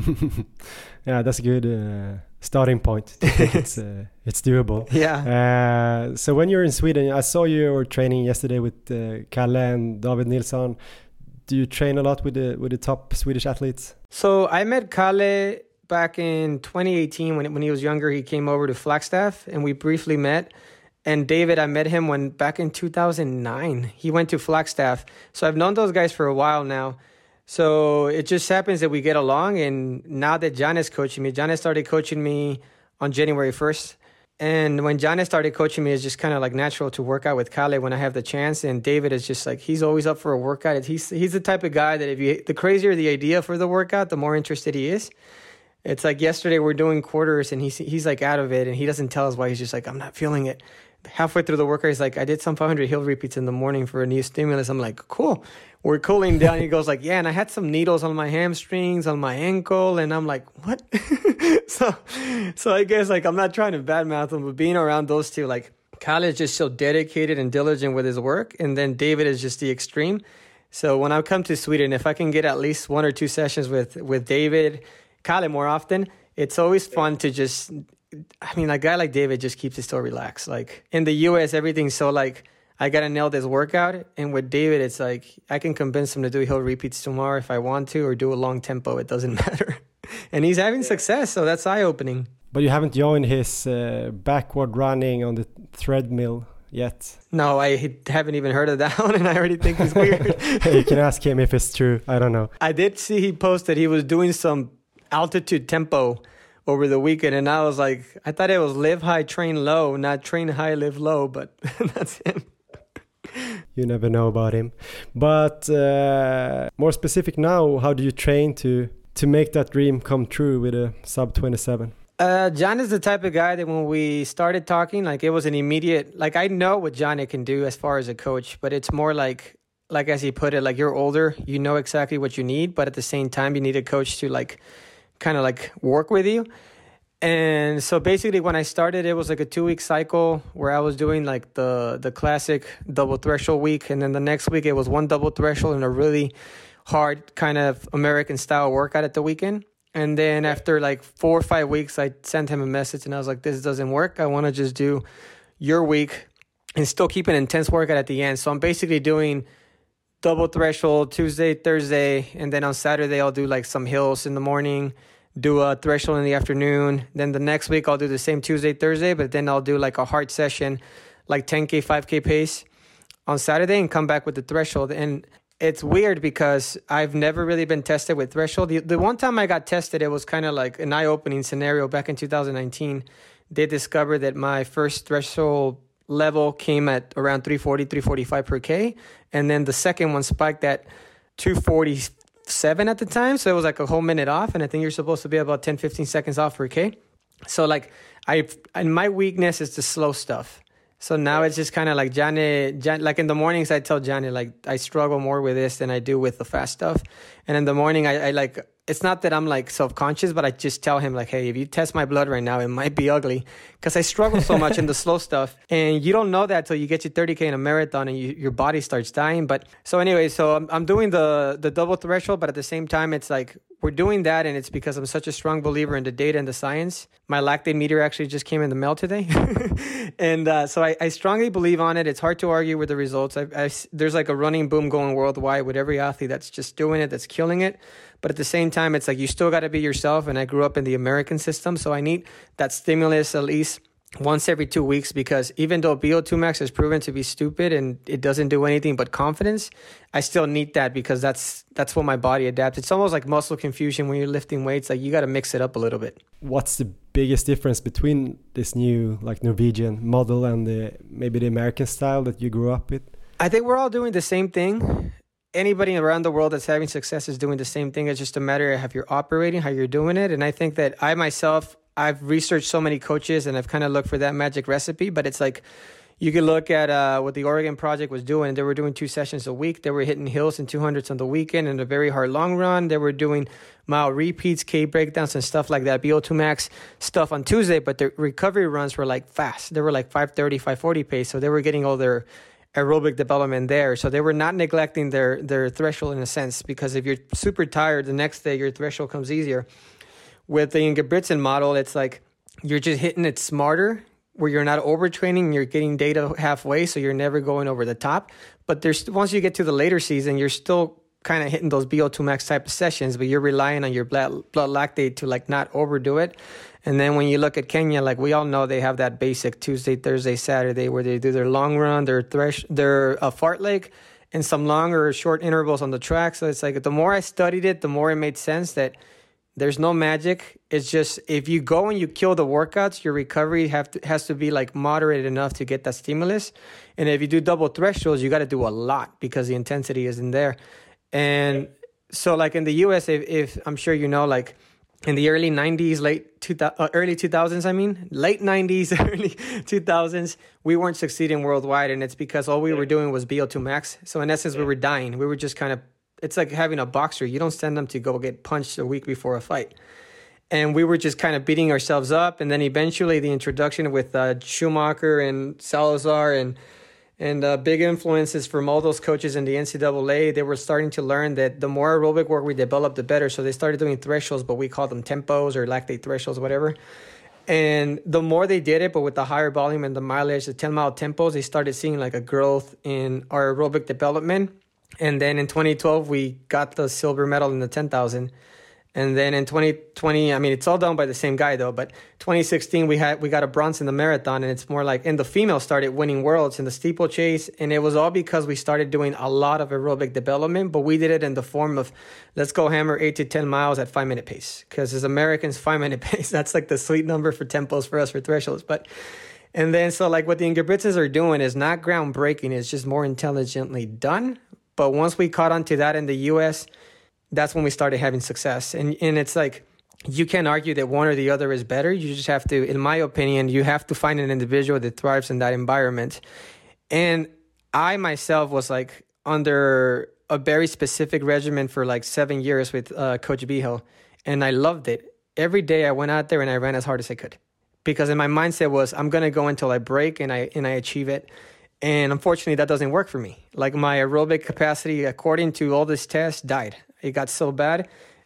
Yeah, that's a good uh, starting point. To think it's uh, it's doable. Yeah. Uh, so when you're in Sweden, I saw you were training yesterday with uh, Kalle and David Nilsson. Do you train a lot with the with the top Swedish athletes? So I met Kalle back in twenty eighteen when when he was younger. He came over to Flagstaff and we briefly met. And David, I met him when back in two thousand nine. He went to Flagstaff. So I've known those guys for a while now. So it just happens that we get along. And now that John is coaching me, John has started coaching me on January first. And when John has started coaching me, it's just kind of like natural to work out with Kalle when I have the chance. And David is just like, he's always up for a workout. He's, he's the type of guy that if you, the crazier the idea for the workout, the more interested he is. It's like yesterday we're doing quarters and he's, he's like out of it and he doesn't tell us why. He's just like, I'm not feeling it. Halfway through the workout, he's like, I did some five hundred hill repeats in the morning for a new stimulus. I'm like, cool. We're cooling down. He goes like, yeah, and I had some needles on my hamstrings, on my ankle. And I'm like, what? so so I guess like I'm not trying to badmouth him, but being around those two, like Kalle is just so dedicated and diligent with his work. And then David is just the extreme. So when I come to Sweden, if I can get at least one or two sessions with, with David, Kalle more often, it's always fun to just... I mean, a guy like David just keeps it so relaxed. Like in the U S, everything's so like, I got to nail this workout. And with David, it's like, I can convince him to do hill repeats tomorrow if I want to, or do a long tempo. It doesn't matter. And he's having success. So that's eye-opening. But you haven't joined his uh, backward running on the treadmill yet. No, I haven't even heard of that one. And I already think he's weird. You can ask him if it's true. I don't know. I did see he posted he was doing some altitude tempo over the weekend, and I was like, I thought it was live high, train low, not train high, live low, but that's him. You never know about him. But uh, more specific now, how do you train to to make that dream come true with a sub twenty-seven? Uh, John is the type of guy that when we started talking, like it was an immediate, like I know what John can do as far as a coach, but it's more like, like as he put it, like you're older, you know exactly what you need, but at the same time, you need a coach to like, kind of like work with you. And so basically when I started, it was like a two week cycle where I was doing like the, the classic double threshold week. And then the next week it was one double threshold and a really hard kind of American style workout at the weekend. And then after like four or five weeks, I sent him a message and I was like, this doesn't work. I want to just do your week and still keep an intense workout at the end. So I'm basically doing double threshold Tuesday, Thursday, and then on Saturday I'll do like some hills in the morning, do a threshold in the afternoon. Then the next week I'll do the same Tuesday, Thursday, but then I'll do like a hard session, like ten K, five K pace on Saturday and come back with the threshold. And it's weird because I've never really been tested with threshold. The, the one time I got tested, it was kind of like an eye-opening scenario back in two thousand nineteen. They discovered that my first threshold level came at around three forty, three forty-five per K. And then the second one spiked at two forty seven at the time. So it was like a whole minute off. And I think you're supposed to be about ten, fifteen seconds off per K. So like I, and my weakness is the slow stuff. So now it's just kind of like Johnny, Johnny, like in the mornings, I tell Johnny, like, I struggle more with this than I do with the fast stuff. And in the morning, I, I like, it's not that I'm like self-conscious, but I just tell him like, hey, if you test my blood right now, it might be ugly because I struggle so much in the slow stuff. And you don't know that till you get your thirty K in a marathon and you, your body starts dying. But so anyway, so I'm, I'm doing the, the double threshold, but at the same time, it's like, we're doing that, and it's because I'm such a strong believer in the data and the science. My lactate meter actually just came in the mail today. and uh, so I, I strongly believe on it. It's hard to argue with the results. I, I, there's like a running boom going worldwide with every athlete that's just doing it, that's killing it. But at the same time, it's like you still got to be yourself. And I grew up in the American system, so I need that stimulus at least once every two weeks, because even though B O two max is proven to be stupid and it doesn't do anything but confidence, I still need that because that's that's what my body adapts. It's almost like muscle confusion when you're lifting weights. Like you got to mix it up a little bit. What's the biggest difference between this new like Norwegian model and the maybe the American style that you grew up with? I think we're all doing the same thing. Anybody around the world that's having success is doing the same thing. It's just a matter of how you're operating, how you're doing it. And I think that I myself, I've researched so many coaches and I've kind of looked for that magic recipe, but it's like you can look at uh, what the Oregon Project was doing. They were doing two sessions a week. They were hitting hills and two hundreds on the weekend and a very hard long run. They were doing mile repeats, K breakdowns and stuff like that, B O two max stuff on Tuesday, but their recovery runs were like fast. They were like five thirty, five forty pace. So they were getting all their aerobic development there. So they were not neglecting their, their threshold in a sense, because if you're super tired, the next day your threshold comes easier. With the Ingebrigtsen model, it's like you're just hitting it smarter, where you're not overtraining, you're getting data halfway, so you're never going over the top. But there's once you get to the later season, you're still kind of hitting those B O two max type of sessions, but you're relying on your blood, blood lactate to like not overdo it. And then when you look at Kenya, like we all know they have that basic Tuesday, Thursday, Saturday where they do their long run, their thresh, their uh, fartlek, and some long or short intervals on the track. So it's like the more I studied it, the more it made sense that there's no magic. It's just if you go and you kill the workouts, your recovery have to, has to be like moderated enough to get that stimulus. And if you do double thresholds, you got to do a lot because the intensity isn't there. And so like in the U S, if, if I'm sure you know, like in the early nineties, late two, uh, early two thousands, I mean, late nineties, early two thousands, we weren't succeeding worldwide. And it's because all we were doing was B O two max. So in essence, we were dying. We were just kind of, it's like having a boxer. You don't send them to go get punched a week before a fight. And we were just kind of beating ourselves up. And then eventually the introduction with uh, Schumacher and Salazar and and uh, big influences from all those coaches in the N C double A, they were starting to learn that the more aerobic work we developed, the better. So they started doing thresholds, but we called them tempos or lactate thresholds, whatever. And the more they did it, but with the higher volume and the mileage, the ten-mile tempos, they started seeing like a growth in our aerobic development. And then in twenty twelve, we got the silver medal in the ten thousand. And then in twenty twenty, I mean, it's all done by the same guy though, but twenty sixteen, we had, we got a bronze in the marathon, and it's more like, and the females started winning worlds in the steeplechase. And it was all because we started doing a lot of aerobic development, but we did it in the form of, let's go hammer eight to ten miles at five minute pace. Cause as Americans, five minute pace, that's like the sweet number for tempos for us for thresholds. But, and then, so like what the Ingebrigtsens are doing is not groundbreaking. It's just more intelligently done. But once we caught on to that in the U S, that's when we started having success. And and it's like, you can't argue that one or the other is better. You just have to, in my opinion, you have to find an individual that thrives in that environment. And I myself was like under a very specific regimen for like seven years with uh, Coach Bihel. And I loved it. Every day I went out there and I ran as hard as I could. Because in my mindset was, I'm going to go until I break and I and I achieve it. And unfortunately, that doesn't work for me. Like my aerobic capacity, according to all this tests, died. It got so bad.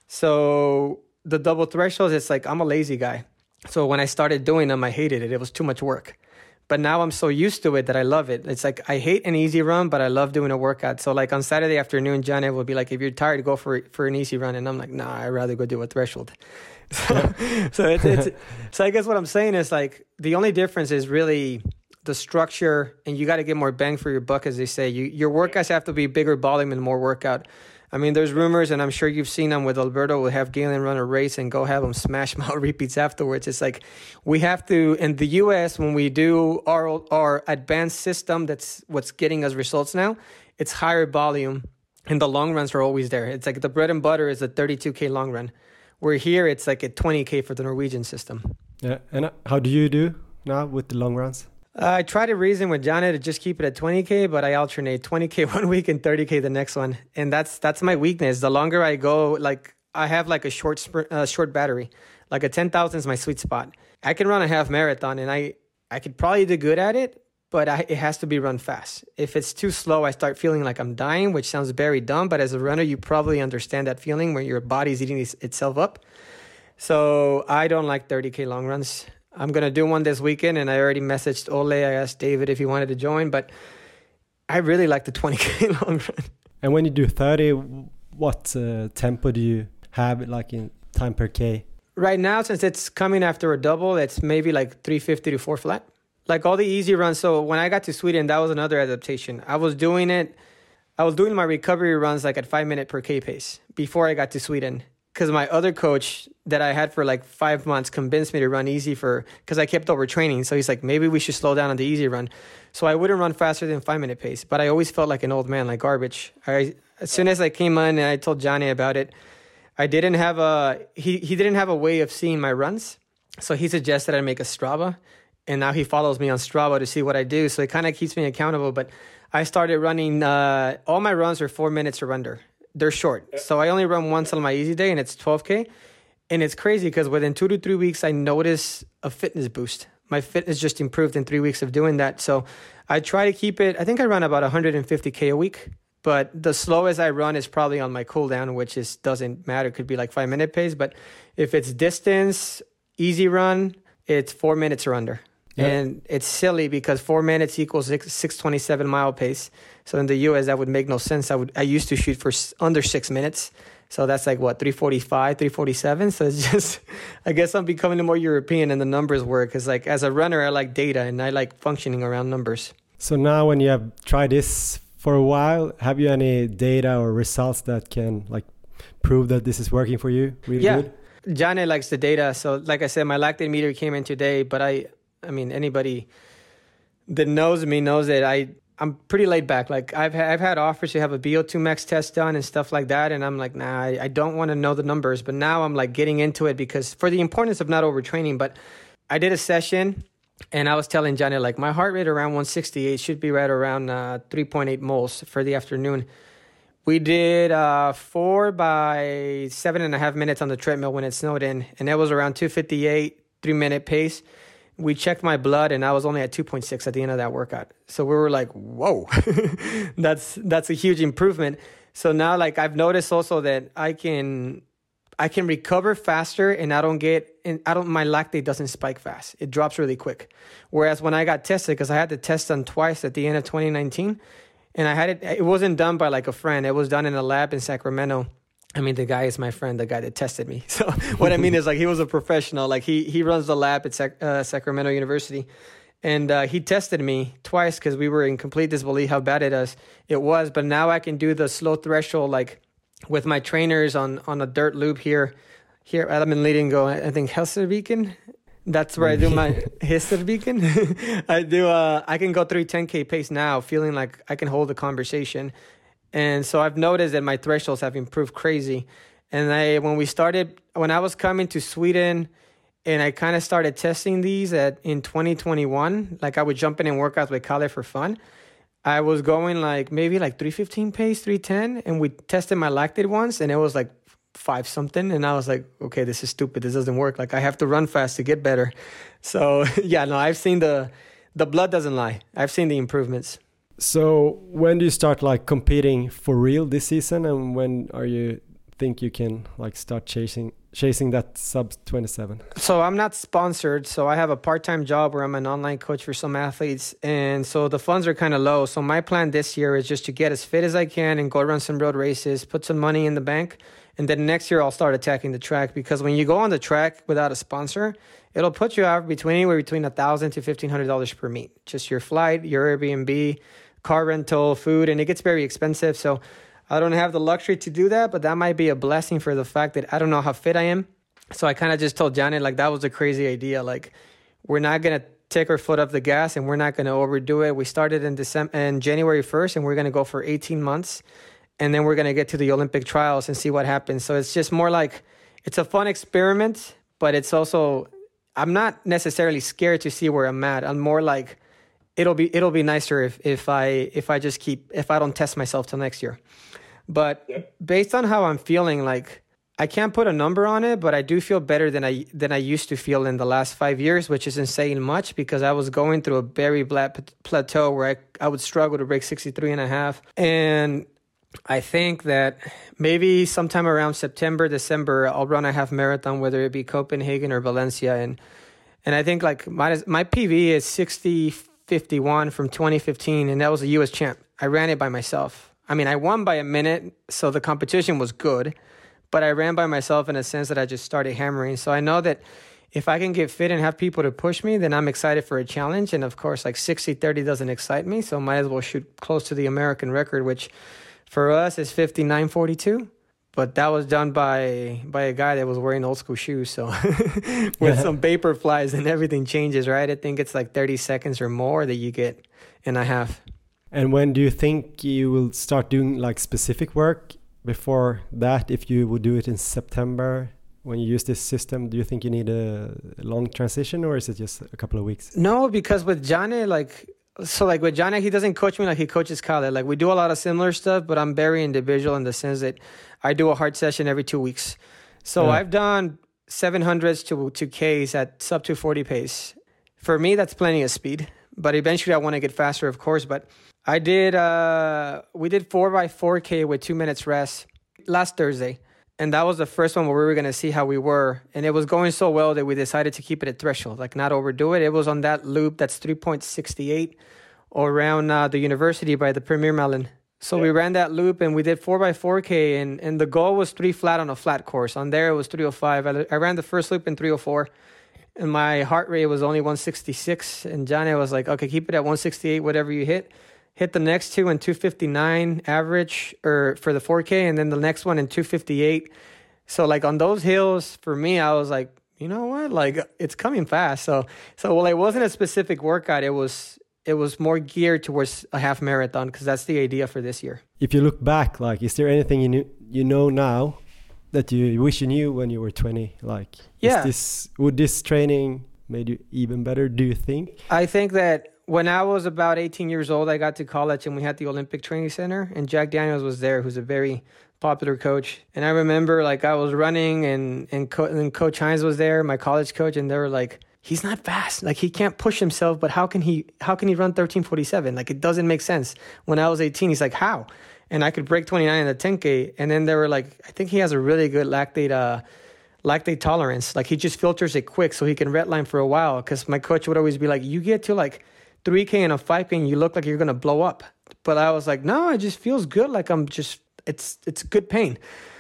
So the double thresholds, it's like, I'm a lazy guy. So when I started doing them, I hated it. It was too much work. But now I'm so used to it that I love it. It's like, I hate an easy run, but I love doing a workout. So like on Saturday afternoon, John will be like, if you're tired, go for for an easy run. And I'm like, nah, I'd rather go do a threshold. So, so, it's, it's, so I guess what I'm saying is like, the only difference is really the structure, and you got to get more bang for your buck, as they say. You, your workouts have to be bigger volume and more workout. I mean, there's rumors, and I'm sure you've seen them with Alberto. We'll have Galen run a race and go have him smash mile repeats afterwards. It's like we have to, in the U S, when we do our our advanced system, that's what's getting us results now, it's higher volume and the long runs are always there. It's like the bread and butter is a thirty-two K long run. Where here it's like a twenty K for the Norwegian system. Yeah, and how do you do now with the long runs? Uh, I try to reason with Johnny to just keep it at twenty K, but I alternate twenty K one week and thirty K the next one. And that's that's my weakness. The longer I go, like I have like a short sprint, uh, short battery. Like a ten thousand is my sweet spot. I can run a half marathon and I, I could probably do good at it, but I, it has to be run fast. If it's too slow, I start feeling like I'm dying, which sounds very dumb, but as a runner, you probably understand that feeling where your body's eating itself up. So I don't like thirty K long runs. I'm going to do one this weekend, and I already messaged Ole. I asked David if he wanted to join, but I really like the twenty K long run. And when you do thirty, what uh, tempo do you have, like in time per K? Right now, since it's coming after a double, it's maybe like three fifty to four flat. Like all the easy runs. So when I got to Sweden, that was another adaptation. I was doing it, I was doing my recovery runs like at five minute per K pace before I got to Sweden. Because my other coach that I had for like five months convinced me to run easy for, because I kept overtraining. So he's like, maybe we should slow down on the easy run. So I wouldn't run faster than five minute pace, but I always felt like an old man, like garbage. I, as soon as I came on and I told Johnny about it, I didn't have a, he, he didn't have a way of seeing my runs. So he suggested I make a Strava, and now he follows me on Strava to see what I do. So it kind of keeps me accountable, but I started running, uh, all my runs are four minutes or under. They're short. So I only run once on my easy day, and it's twelve K. And it's crazy because within two to three weeks, I notice a fitness boost. My fitness just improved in three weeks of doing that. So I try to keep it, I think I run about one hundred fifty K a week, but the slowest I run is probably on my cool down, which is doesn't matter. It could be like five minute pace, but if it's distance, easy run, it's four minutes or under. Yeah. And it's silly because four minutes equals six twenty-seven mile pace. So in the U S, that would make no sense. I would I used to shoot for under six minutes. So that's like, what, three forty-five, three forty-seven? So it's just, I guess I'm becoming more European and the numbers work. Because like as a runner, I like data and I like functioning around numbers. So now when you have tried this for a while, have you any data or results that can like prove that this is working for you really yeah. good? Johnny likes the data. So like I said, my lactate meter came in today, but I... I mean, anybody that knows me knows that I, I'm pretty laid back. Like I've ha- I've had offers to have a B O two max test done and stuff like that. And I'm like, nah, I, I don't want to know the numbers. But now I'm like getting into it because for the importance of not overtraining. But I did a session and I was telling Johnny, like my heart rate around one sixty-eight should be right around uh, three point eight moles for the afternoon. We did uh, four by seven and a half minutes on the treadmill when it snowed in. And that was around two fifty-eight, three minute pace. We checked my blood and I was only at two point six at the end of that workout. So we were like, whoa, that's that's a huge improvement. So now like I've noticed also that I can I can recover faster and I don't get and I don't my lactate doesn't spike fast. It drops really quick. Whereas when I got tested, because I had the test done twice at the end of twenty nineteen, and I had it it wasn't done by like a friend. It was done in a lab in Sacramento. I mean, the guy is my friend, the guy that tested me. So what I mean is like he was a professional. Like he he runs the lab at Sac- uh, Sacramento University. And uh, he tested me twice because we were in complete disbelief how bad it is. It was. But now I can do the slow threshold like with my trainers on, on a dirt loop here. Here at Leading go, I think Helserviken. That's where I do my Helserviken. I do. Uh, I can go through ten K pace now, feeling like I can hold a conversation. And so I've noticed that my thresholds have improved crazy. And I, when we started, when I was coming to Sweden and I kind of started testing these at in twenty twenty-one, like I would jump in and work out with Kalle for fun. I was going like maybe like three fifteen pace, three ten. And we tested my lactate once and it was like five something. And I was like, okay, this is stupid. This doesn't work. Like I have to run fast to get better. So yeah, no, I've seen the, the blood doesn't lie. I've seen the improvements. So when do you start like competing for real this season, and when are you think you can like start chasing chasing that sub twenty-seven? So I'm not sponsored, so I have a part-time job where I'm an online coach for some athletes, and so the funds are kind of low. So my plan this year is just to get as fit as I can and go run some road races, put some money in the bank, and then next year I'll start attacking the track, because when you go on the track without a sponsor, it'll put you out between anywhere between a thousand to fifteen hundred dollars per meet, just your flight, your Airbnb, car rental, food, and it gets very expensive. So I don't have the luxury to do that, but that might be a blessing for the fact that I don't know how fit I am. So I kind of just told Janet, like, that was a crazy idea. Like, we're not going to take our foot off the gas and we're not going to overdo it. We started in December and January first, and we're going to go for eighteen months. and then we're going to get to the Olympic trials and see what happens. So it's just more like, it's a fun experiment, but it's also, I'm not necessarily scared to see where I'm at. I'm more like, it'll be it'll be nicer if if I if I just keep if I don't test myself till next year. But yeah. Based on how I'm feeling, like, I can't put a number on it, but I do feel better than I than I used to feel in the last five years, which isn't saying much because I was going through a very flat plateau where I, I would struggle to break sixty-three and a half. And I think that maybe sometime around September, December, I'll run a half marathon, whether it be Copenhagen or Valencia. And and I think like my my P V is sixty fifty-one from twenty fifteen, and that was a U S champ. I ran it by myself. I mean, I won by a minute, so the competition was good. But I ran by myself in a sense that I just started hammering. So I know that if I can get fit and have people to push me, then I'm excited for a challenge. And of course, like sixty thirty doesn't excite me. So might as well shoot close to the American record, which for us is fifty-nine forty-two. But that was done by by a guy that was wearing old school shoes. So with some vapor flies and everything changes, right? I think it's like thirty seconds or more that you get in a half. And when do you think you will start doing like specific work? Before that, if you would do it in September, when you use this system, do you think you need a long transition, or is it just a couple of weeks? No, because with Jane, like, so like with Jane, he doesn't coach me like he coaches Khaled. Like, we do a lot of similar stuff, but I'm very individual in the sense that I do a hard session every two weeks. So yeah. I've done seven hundreds to, to Ks at sub two forty pace. For me, that's plenty of speed. But eventually I want to get faster, of course. But I did, uh, we did four by four K with two minutes rest last Thursday. And that was the first one where we were going to see how we were. And it was going so well that we decided to keep it at threshold, like not overdo it. It was on that loop that's three point six eight around uh, the university by the Premier Mellon. So yeah. We ran that loop and we did four by four K. And, and the goal was three flat on a flat course. On there, it was three oh five. I, I ran the first loop in three oh four. And my heart rate was only one sixty-six. And Johnny was like, okay, keep it at one sixty-eight, whatever you hit. Hit the next two in two fifty-nine average or for the four K. And then the next one in two fifty-eight. So like on those hills, for me, I was like, you know what? Like it's coming fast. So, so well, it wasn't a specific workout. It was, it was more geared towards a half marathon because that's the idea for this year. If you look back, like, is there anything you knew, you know now that you wish you knew when you were twenty? Like, yeah. is this, would this training made you even better, do you think? I think that when I was about eighteen years old, I got to college and we had the Olympic Training Center and Jack Daniels was there, who's a very popular coach. And I remember like I was running and, and, Co- and Coach Hines was there, my college coach, and they were like, he's not fast. Like he can't push himself, but how can he, how can he run thirteen forty-seven? Like it doesn't make sense. When I was eighteen, he's like, how? And I could break twenty-nine in the ten K. And then they were like, I think he has a really good lactate, uh, lactate tolerance. Like he just filters it quick so he can redline for a while. Cause my coach would always be like, you get to like three K and a five K and you look like you're going to blow up. But I was like, no, it just feels good. Like I'm just, it's, it's good pain.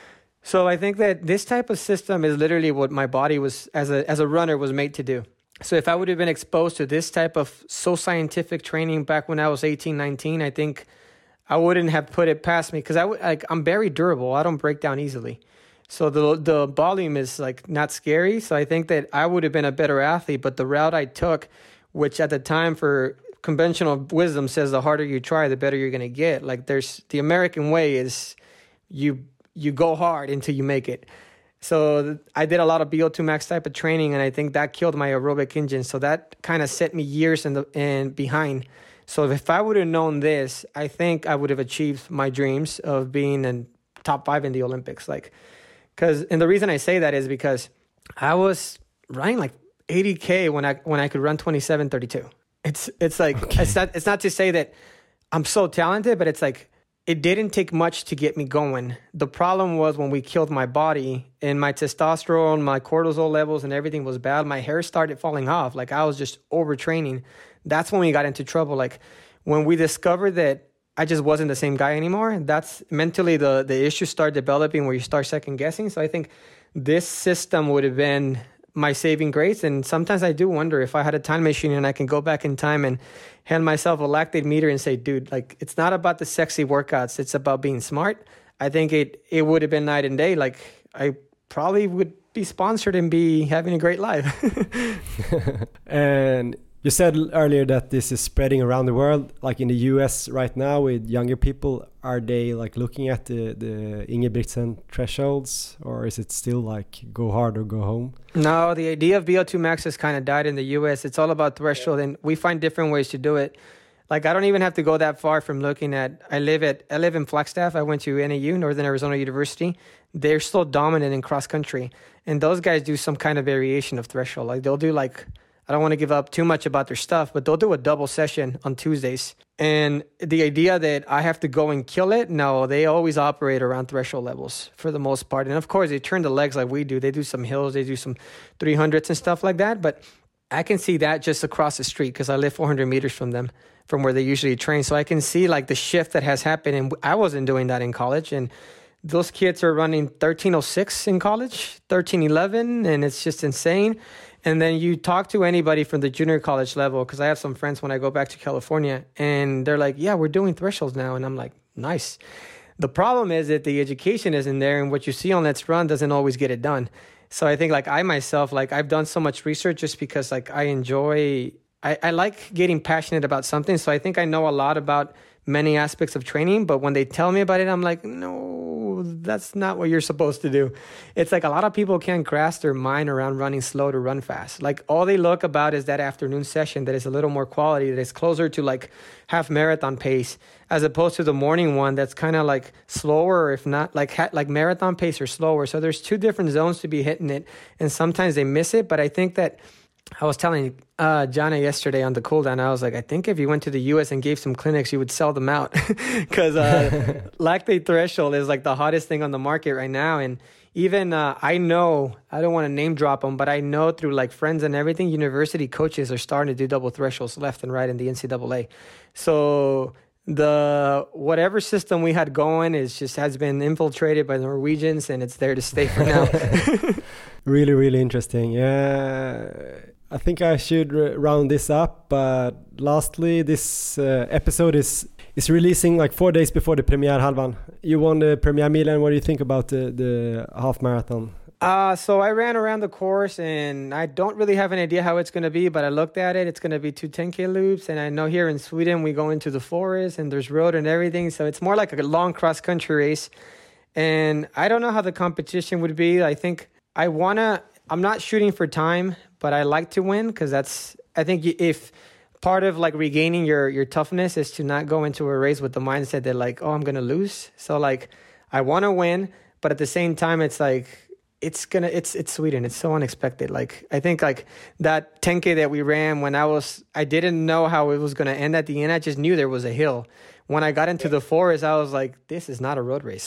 So I think that this type of system is literally what my body was as a, as a runner was made to do. So if I would have been exposed to this type of so scientific training back when I was eighteen, nineteen, I think I wouldn't have put it past me because I w- like, I'm very durable. I don't break down easily. So the the volume is like not scary. So I think that I would have been a better athlete. But the route I took, which at the time for conventional wisdom says the harder you try, the better you're going to get. Like there's the American way is you you go hard until you make it. So I did a lot of B O two max type of training, and I think that killed my aerobic engine. So that kind of set me years in the and behind. So if I would have known this, I think I would have achieved my dreams of being in top five in the Olympics. Like, cause, and the reason I say that is because I was running like eighty K when I, when I could run twenty-seven thirty-two. It's, it's like, okay. it's not, it's not to say that I'm so talented, but it's like, it didn't take much to get me going. The problem was when we killed my body and my testosterone, my cortisol levels and everything was bad. My hair started falling off. Like I was just overtraining. That's when we got into trouble. Like when we discovered that I just wasn't the same guy anymore, that's mentally the, the issues start developing where you start second guessing. So I think this system would have been my saving grace. And sometimes I do wonder if I had a time machine and I can go back in time and hand myself a lactate meter and say, dude, like it's not about the sexy workouts. It's about being smart. I think it, it would have been night and day. Like I probably would be sponsored and be having a great life. And You said earlier that this is spreading around the world, like in the U S right now with younger people. Are they like looking at the, the Ingebrigtsen thresholds, or is it still like go hard or go home? No, the idea of V O two max has kind of died in the U S. It's all about threshold, and we find different ways to do it. Like, I don't even have to go that far from looking at, I live at, I live in Flagstaff. I went to N A U, Northern Arizona University. They're still dominant in cross country. And those guys do some kind of variation of threshold. Like, they'll do like, I don't want to give up too much about their stuff, but they'll do a double session on Tuesdays. And the idea that I have to go and kill it, no, they always operate around threshold levels for the most part. And of course, they turn the legs like we do. They do some hills, they do some three hundreds and stuff like that. But I can see that just across the street because I live four hundred meters from them, from where they usually train. So I can see like the shift that has happened. And I wasn't doing that in college. And those kids are running thirteen oh six in college, thirteen eleven, and it's just insane. And then you talk to anybody from the junior college level, because I have some friends when I go back to California, and they're like, yeah, we're doing thresholds now. And I'm like, nice. The problem is that the education isn't there, and what you see on Let's Run doesn't always get it done. So I think like I myself, like I've done so much research just because like I enjoy, I, I like getting passionate about something. So I think I know a lot about many aspects of training, but when they tell me about it, I'm like, no, that's not what you're supposed to do. It's like a lot of people can't grasp their mind around running slow to run fast. Like all they look about is that afternoon session that is a little more quality, that is closer to like half marathon pace, as opposed to the morning one that's kind of like slower, if not like ha- like marathon pace or slower. So there's two different zones to be hitting it, and sometimes they miss it. But I think that I was telling uh, Jana yesterday on the cool down, I was like, I think if you went to the U S and gave some clinics, you would sell them out because uh, lactate threshold is like the hottest thing on the market right now. And even uh, I know, I don't want to name drop them, but I know through like friends and everything, university coaches are starting to do double thresholds left and right in the N C double A. So the whatever system we had going is just has been infiltrated by the Norwegians, and it's there to stay for now. Really, really interesting. Yeah. I think I should r- round this up, but lastly, this uh, episode is is releasing like four days before the Premiere Halvan. You won the Premiere Milen. What do you think about the, the half marathon? Uh, so I ran around the course, and I don't really have an idea how it's going to be, but I looked at it. It's going to be two ten K loops, and I know here in Sweden we go into the forest, and there's road and everything, so it's more like a long cross-country race. And I don't know how the competition would be. I think I want to... I'm not shooting for time, but I like to win because that's, I think if part of like regaining your, your toughness is to not go into a race with the mindset that like, oh, I'm going to lose. So like, I want to win, but at the same time, it's like, it's going to, it's, it's Sweden. It's so unexpected. Like, I think like that ten K that we ran when I was, I didn't know how it was going to end at the end. I just knew there was a hill. When I got into the forest, I was like, this is not a road race.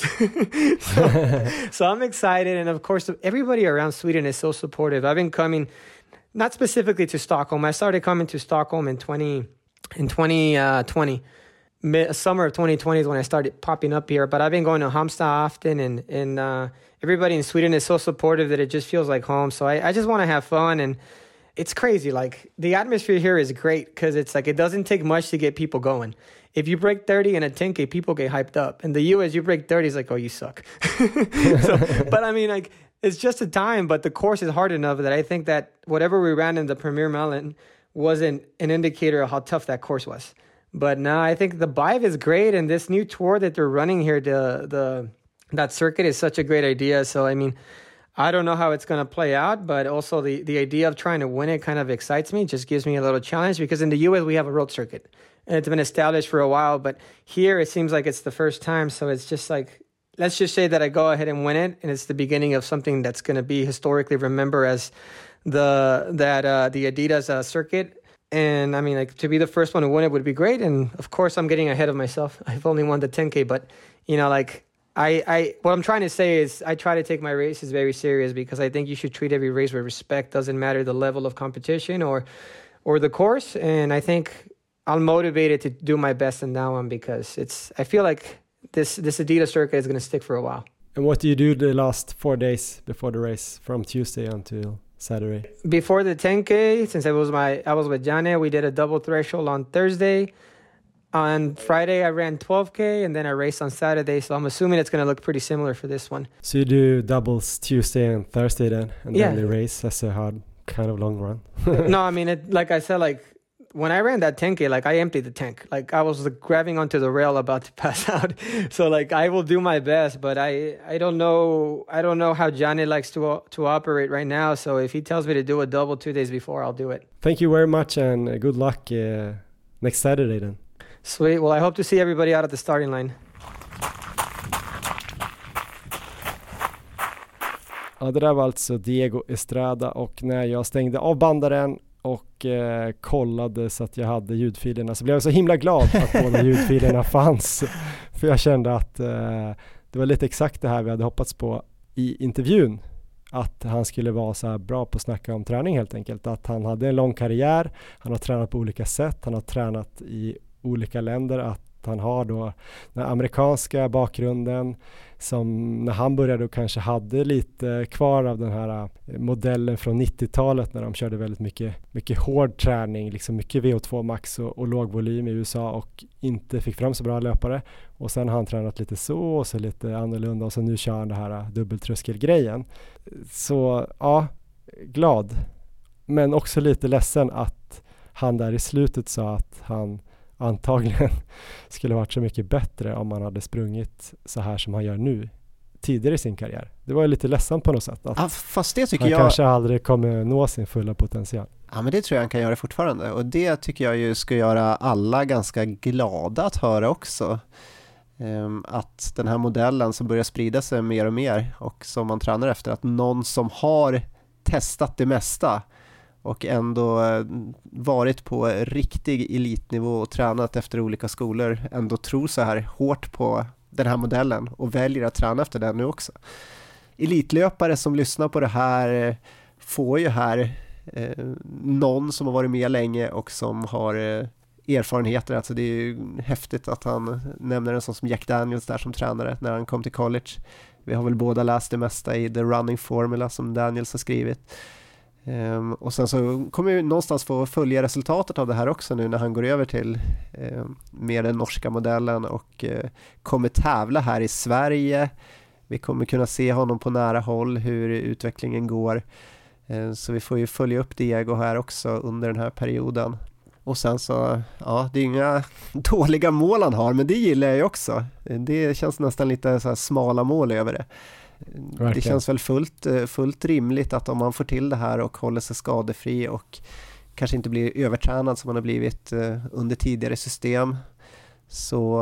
so, so I'm excited. And of course, everybody around Sweden is so supportive. I've been coming, not specifically to Stockholm. I started coming to Stockholm in twenty in twenty twenty. Mid, summer of twenty twenty is when I started popping up here. But I've been going to Halmstad often. And, and uh, everybody in Sweden is so supportive that it just feels like home. So I, I just want to have fun. And it's crazy. Like, the atmosphere here is great because it's like it doesn't take much to get people going. If you break thirty in a ten K, people get hyped up. In the U S, you break thirty, it's like, oh, you suck. so, but I mean, like, it's just a time, but the course is hard enough that I think that whatever we ran in the Premiere Milen wasn't an indicator of how tough that course was. But now I think the Bive is great, and this new tour that they're running here, the the that circuit is such a great idea. So, I mean, I don't know how it's going to play out, but also the, the idea of trying to win it kind of excites me, just gives me a little challenge because in the U S, we have a road circuit. And it's been established for a while, but here it seems like it's the first time. So it's just like, let's just say that I go ahead and win it, and it's the beginning of something that's going to be historically remembered as the that uh, the Adidas uh, circuit. And I mean, like, to be the first one to win it would be great. And of course, I'm getting ahead of myself. I've only won the ten K, but you know, like I, I, what I'm trying to say is I try to take my races very serious because I think you should treat every race with respect. Doesn't matter the level of competition or or the course. And I think I'm motivated to do my best in that one because it's, I feel like this, this Adidas circuit is going to stick for a while. And what do you do the last four days before the race from Tuesday until Saturday? Before the ten K, since I was my, I was with Jana, we did a double threshold on Thursday. On Friday, I ran twelve K and then I raced on Saturday. So I'm assuming it's going to look pretty similar for this one. So you do doubles Tuesday and Thursday then? And yeah. then the race, that's a hard kind of long run. No, I mean, it, like I said, like, when I ran that ten K, like I emptied the tank. Like I was like, grabbing onto the rail about to pass out. So like I will do my best, but I I don't know I don't know how Johnny likes to to operate right now. So if he tells me to do a double two days before, I'll do it. Thank you very much and good luck uh, next Saturday then. Sweet. Well, I hope to see everybody out at the starting line. Ja, det där var alltså Diego Estrada, och när jag stängde av bandaren och eh, kollade så att jag hade ljudfilerna så blev jag så himla glad att båda ljudfilerna fanns. För jag kände att eh, det var lite exakt det här vi hade hoppats på i intervjun. Att han skulle vara så här bra på att snacka om träning helt enkelt. Att han hade en lång karriär, han har tränat på olika sätt, han har tränat i olika länder, att han har då den amerikanska bakgrunden som när han började då kanske hade lite kvar av den här modellen från nittiotalet när de körde väldigt mycket, mycket hård träning, liksom mycket V O två max och, och låg volym i U S A och inte fick fram så bra löpare. Och sen har han tränat lite så och så lite annorlunda och så nu kör han det här dubbeltröskelgrejen. Så ja, glad. Men också lite ledsen att han där i slutet sa att han antagligen skulle varit så mycket bättre om man hade sprungit så här som han gör nu tidigare i sin karriär. Det var ju lite ledsamt på något sätt. Att ja, fast det tycker han jag... kanske aldrig kommer nå sin fulla potential. Ja, men det tror jag han kan göra fortfarande. Och det tycker jag ju ska göra alla ganska glada att höra också. Um, att den här modellen som börjar sprida sig mer och mer och som man tränar efter, att någon som har testat det mesta och ändå varit på riktig elitnivå och tränat efter olika skolor ändå tror så här hårt på den här modellen och väljer att träna efter den nu också. Elitlöpare som lyssnar på det här får ju här eh, någon som har varit med länge och som har eh, erfarenheter. Alltså det är ju häftigt att han nämner en sån som Jack Daniels där som tränare när han kom till college. Vi har väl båda läst det mesta i The Running Formula som Daniels har skrivit. Um, och sen så kommer vi någonstans få följa resultatet av det här också nu när han går över till um, mer den norska modellen och uh, kommer tävla här i Sverige. Vi kommer kunna se honom på nära håll hur utvecklingen går. Uh, så vi får ju följa upp Diego här också under den här perioden. Och sen så, ja, det är inga dåliga mål han har, men det gillar jag ju också. Det känns nästan lite så här smala mål över det. Verkligen. Det känns väl fullt, fullt rimligt att om man får till det här och håller sig skadefri och kanske inte blir övertränad som man har blivit under tidigare system, så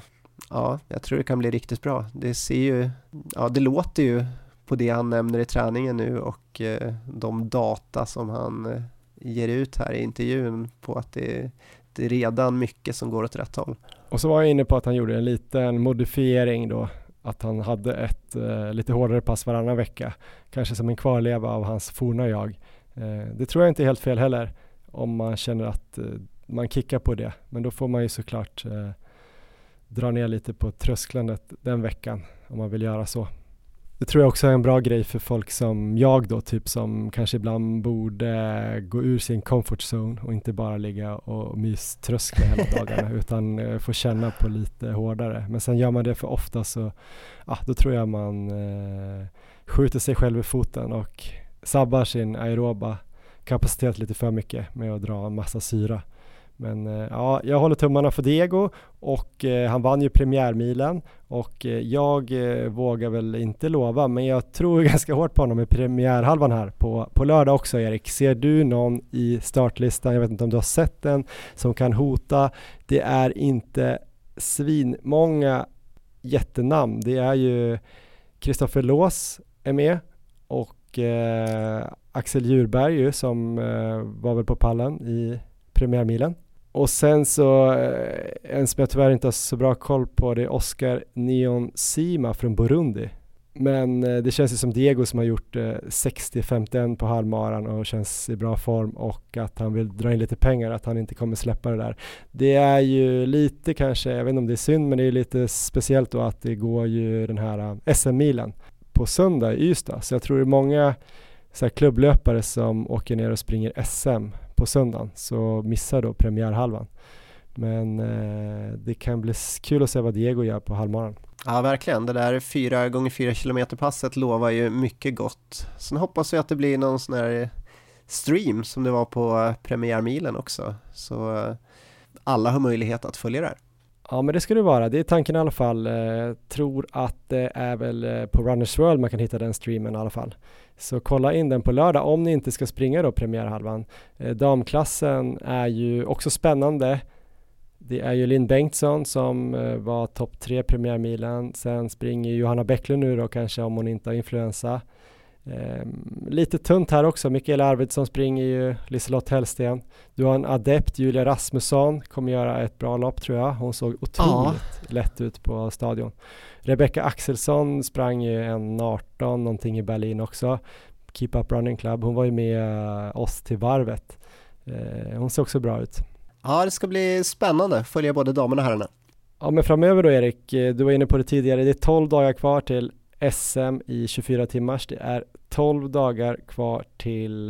ja, jag tror det kan bli riktigt bra. Det ser ju, ja, det låter ju på det han nämner i träningen nu och de data som han ger ut här i intervjun på att det, det är redan mycket som går åt rätt håll. Och så var jag inne på att han gjorde en liten modifiering då, att han hade ett eh, lite hårdare pass varannan vecka, kanske som en kvarleva av hans forna jag. Eh, det tror jag inte är helt fel heller om man känner att eh, man kickar på det, men då får man ju såklart eh, dra ner lite på trösklandet den veckan om man vill göra så. Det tror jag också är en bra grej för folk som jag då, typ som kanske ibland borde gå ur sin comfort zone och inte bara ligga och myströskla hela dagarna utan uh, få känna på lite hårdare. Men sen gör man det för ofta så ah, då tror jag man uh, skjuter sig själv i foten och sabbar sin aeroba kapacitet lite för mycket med att dra en massa syra. Men eh, ja, jag håller tummarna för Diego och eh, han vann ju premiärmilen och eh, jag eh, vågar väl inte lova, men jag tror ganska hårt på honom i premiärhalvan här på, på lördag också. Erik, ser du någon i startlistan, jag vet inte om du har sett den, som kan hota? Det är inte svinmånga jättenamn. Det är ju Kristoffer Lås är med och eh, Axel Djurberg ju, som eh, var väl på pallen i premiärmilen. Och sen så en som jag tyvärr inte har så bra koll på, det är Oscar Niyonsima från Burundi. Men det känns ju som Diego som har gjort sextio femtioett på halvmaran och känns i bra form och att han vill dra in lite pengar, att han inte kommer släppa det där. Det är ju lite kanske, jag vet inte om det är synd, men det är lite speciellt då att det går ju den här S M-milen på söndag i Ystad. Så jag tror det är många så här klubblöpare som åker ner och springer S M på söndagen, så missar då premiärhalvan. Men eh, det kan bli kul att se vad Diego gör på halvmaran. Ja, verkligen. Det där fyra gånger fyra kilometer passet lovar ju mycket gott. Sen hoppas vi att det blir någon sån här stream som det var på premiärmilen också. Så eh, alla har möjlighet att följa det här. Ja, men det ska det vara. Det är tanken i alla fall. Jag tror att det är väl på Runners World man kan hitta den streamen i alla fall. Så kolla in den på lördag om ni inte ska springa då premiärhalvan. Damklassen är ju också spännande. Det är ju Linn Bengtsson som var topp tre premiärmilen. Sen springer Johanna Bäcklund nu då kanske om hon inte har influensa. Um, lite tunt här också. Mikael Arvidsson springer ju, Liselott Hellsten. Du har en adept, Julia Rasmusson, kommer göra ett bra lopp tror jag. Hon såg otroligt ja. lätt ut på stadion. Rebecca Axelsson sprang ju en arton någonting i Berlin också. Keep Up Running Club. Hon var ju med oss till varvet. Uh, hon ser också bra ut. Ja, det ska bli spännande. Följa både damerna och herrarna. Ja, men framöver då Erik, du var inne på det tidigare. Det är tolv dagar kvar till S M i tjugofyra timmars. Det är tolv dagar kvar till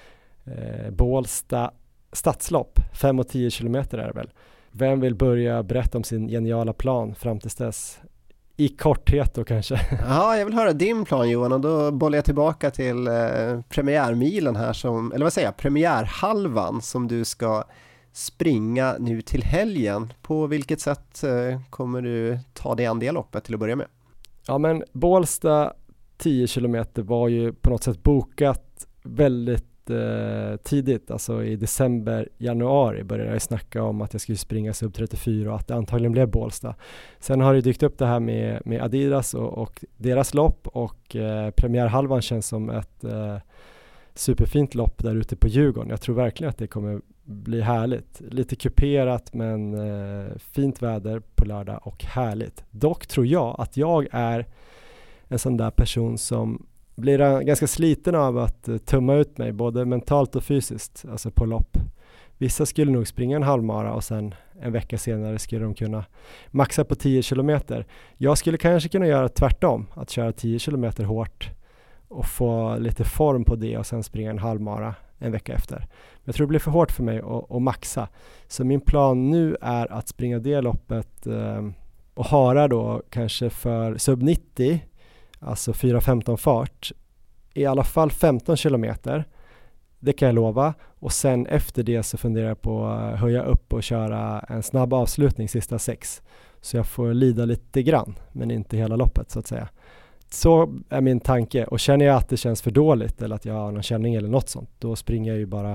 eh, Bålsta stadslopp. fem och tio kilometer är det väl. Vem vill börja berätta om sin geniala plan fram till dess? I korthet då kanske. Ja, jag vill höra din plan Johan, och då bollar jag tillbaka till eh, premiärmilen här som, eller vad säger jag, premiärhalvan som du ska springa nu till helgen. På vilket sätt eh, kommer du ta dig an det loppet till att börja med? Ja, men Bålsta tio kilometer var ju på något sätt bokat väldigt eh, tidigt, alltså i december, januari började jag snacka om att jag skulle springa sub trettiofyra och att det antagligen blev Bålsta. Sen har det dykt upp det här med, med Adidas och, och deras lopp, och eh, premiärhalvan känns som ett eh, superfint lopp där ute på Djurgården. Jag tror verkligen att det kommer bli härligt. Lite kuperat men eh, fint väder på lördag och härligt. Dock tror jag att jag är en sån där person som blir ganska sliten av att uh, tumma ut mig både mentalt och fysiskt, alltså på lopp. Vissa skulle nog springa en halvmara och sen en vecka senare skulle de kunna maxa på tio kilometer. Jag skulle kanske kunna göra tvärtom, att köra tio kilometer hårt och få lite form på det och sen springa en halvmara en vecka efter. Men jag tror det blir för hårt för mig att, att maxa. Så min plan nu är att springa det loppet eh, och hara då kanske för sub nittio, alltså fyra femton fart, i alla fall femton kilometer. Det kan jag lova. Och sen efter det så funderar jag på att höja upp och köra en snabb avslutning sista sex. Så jag får lida lite grann, men inte hela loppet så att säga. Så är min tanke, och känner jag att det känns för dåligt eller att jag har någon känning eller något sånt, då springer jag ju bara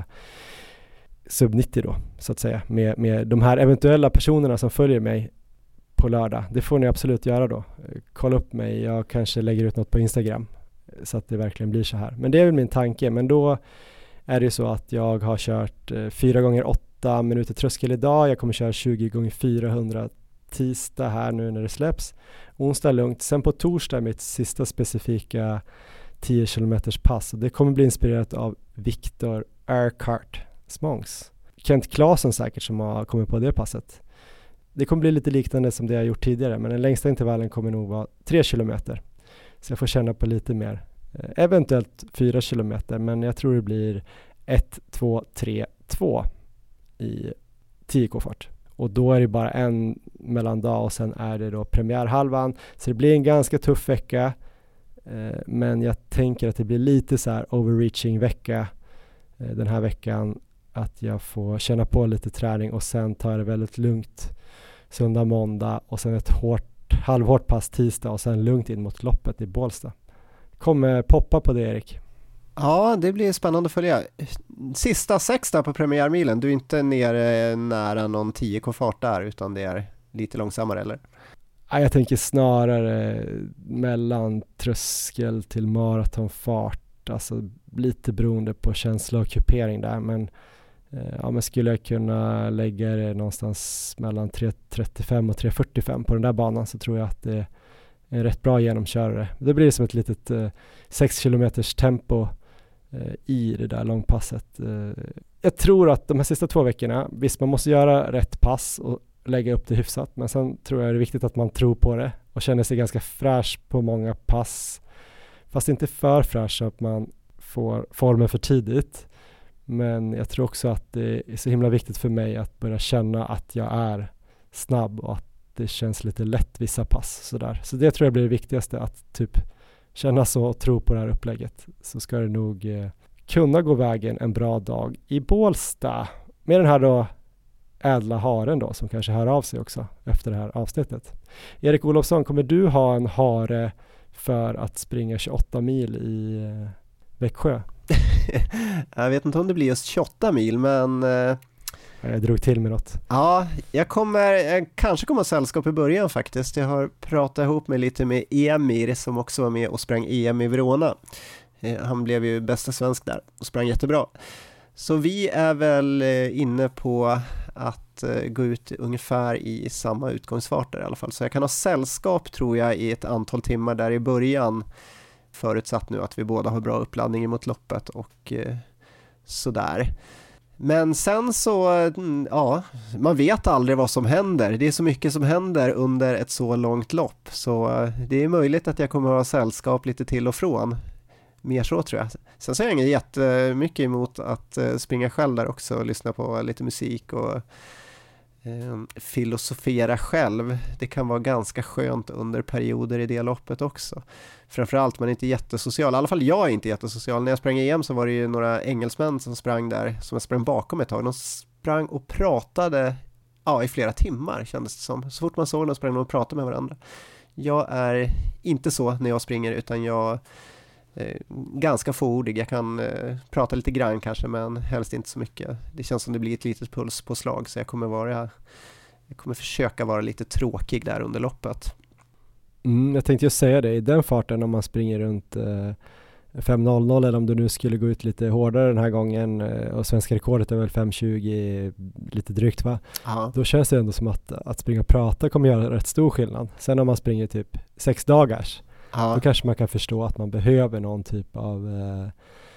sub nittio då så att säga med, med de här eventuella personerna som följer mig på lördag. Det får ni absolut göra då. Kolla upp mig, jag kanske lägger ut något på Instagram så att det verkligen blir så här. Men det är väl min tanke, men då är det så att jag har kört fyra gånger åtta minuter tröskel idag. Jag kommer köra tjugo gånger fyrahundra tisdag här nu när det släpps. Onsdag är lugnt. Sen på torsdag är mitt sista specifika tio kilometers pass. Det kommer bli inspirerat av Viktor Urquhart Smångs. Kent Claesson säkert som har kommit på det passet. Det kommer bli lite liknande som det jag gjort tidigare, men den längsta intervallen kommer nog vara tre kilometer. Så jag får känna på lite mer. Eh, eventuellt fyra kilometer, men jag tror det blir ett, två, tre, två i tio k-fart. Och då är det bara en mellandag och sen är det då premiärhalvan. Så det blir en ganska tuff vecka. Eh, men jag tänker att det blir lite så här overreaching vecka eh, den här veckan. Att jag får känna på lite träning och sen tar det väldigt lugnt söndag, måndag och sen ett hårt, halvhårt pass tisdag och sen lugnt in mot loppet i Bålsta. Kommer poppa på det, Erik. Ja, det blir spännande att följa. Sista sex där på premiärmilen, du är inte nere nära någon tio k-fart där utan det är lite långsammare, eller? Ja, jag tänker snarare mellan tröskel till maratonfart, alltså lite beroende på känsla och kupering där, men ja, men skulle jag kunna lägga det någonstans mellan tre trettiofem och tre fyrtiofem på den där banan så tror jag att det är en rätt bra genomkörare. Det blir som ett litet eh, sex kilometers tempo eh, i det där långpasset. Eh, jag tror att de här sista två veckorna, visst man måste göra rätt pass och lägga upp det hyfsat, men sen tror jag det är viktigt att man tror på det och känner sig ganska fräsch på många pass. Fast inte för fräsch så att man får formen för tidigt. Men jag tror också att det är så himla viktigt för mig att börja känna att jag är snabb och att det känns lite lätt vissa pass. Sådär. Så det tror jag blir det viktigaste, att typ känna så och tro på det här upplägget. Så ska det nog eh, kunna gå vägen en bra dag i Bålsta. Med den här då ädla haren då som kanske hör av sig också efter det här avsnittet. Erik Olofsson, kommer du ha en hare för att springa tjugoåtta mil i eh, Växjö? Jag vet inte om det blir just tjugoåtta mil, men eh, jag drog till med något. Ja, jag kommer jag kanske kommer ha sällskap i början faktiskt. Jag har pratat ihop mig lite med Emir som också var med och sprang E M i Verona. Eh, han blev ju bästa svensk där och sprang jättebra. Så vi är väl eh, inne på att eh, gå ut ungefär i samma utgångsfart där i alla fall. Så jag kan ha sällskap tror jag i ett antal timmar där i början. Förutsatt nu att vi båda har bra uppladdning mot loppet och eh, sådär. Men sen så, ja, man vet aldrig vad som händer. Det är så mycket som händer under ett så långt lopp. Så det är möjligt att jag kommer att ha sällskap lite till och från. Mer så tror jag. Sen så är jag inget jättemycket emot att springa själv där också och lyssna på lite musik och eh, filosofera själv. Det kan vara ganska skönt under perioder i det loppet också. Framförallt man är inte jättesocial. I alla fall jag är inte jättesocial. När jag sprang E M så var det ju några engelsmän som sprang där, som jag sprang bakom ett tag. De sprang och pratade ja, i flera timmar kändes det som. Så fort man såg dem sprang de och pratade med varandra. Jag är inte så när jag springer utan jag är ganska fåordig. Jag kan eh, prata lite grann kanske men helst inte så mycket. Det känns som det blir ett litet puls på slag så jag kommer vara jag kommer försöka vara lite tråkig där under loppet. Mm, jag tänkte ju säga det, i den farten om man springer runt eh, fem noll noll eller om du nu skulle gå ut lite hårdare den här gången eh, och svenska rekordet är väl fem tjugo lite drygt va? Aha. Då känns det ändå som att, att springa och prata kommer göra rätt stor skillnad. Sen om man springer typ sex dagars Aha. Då kanske man kan förstå att man behöver någon typ av eh,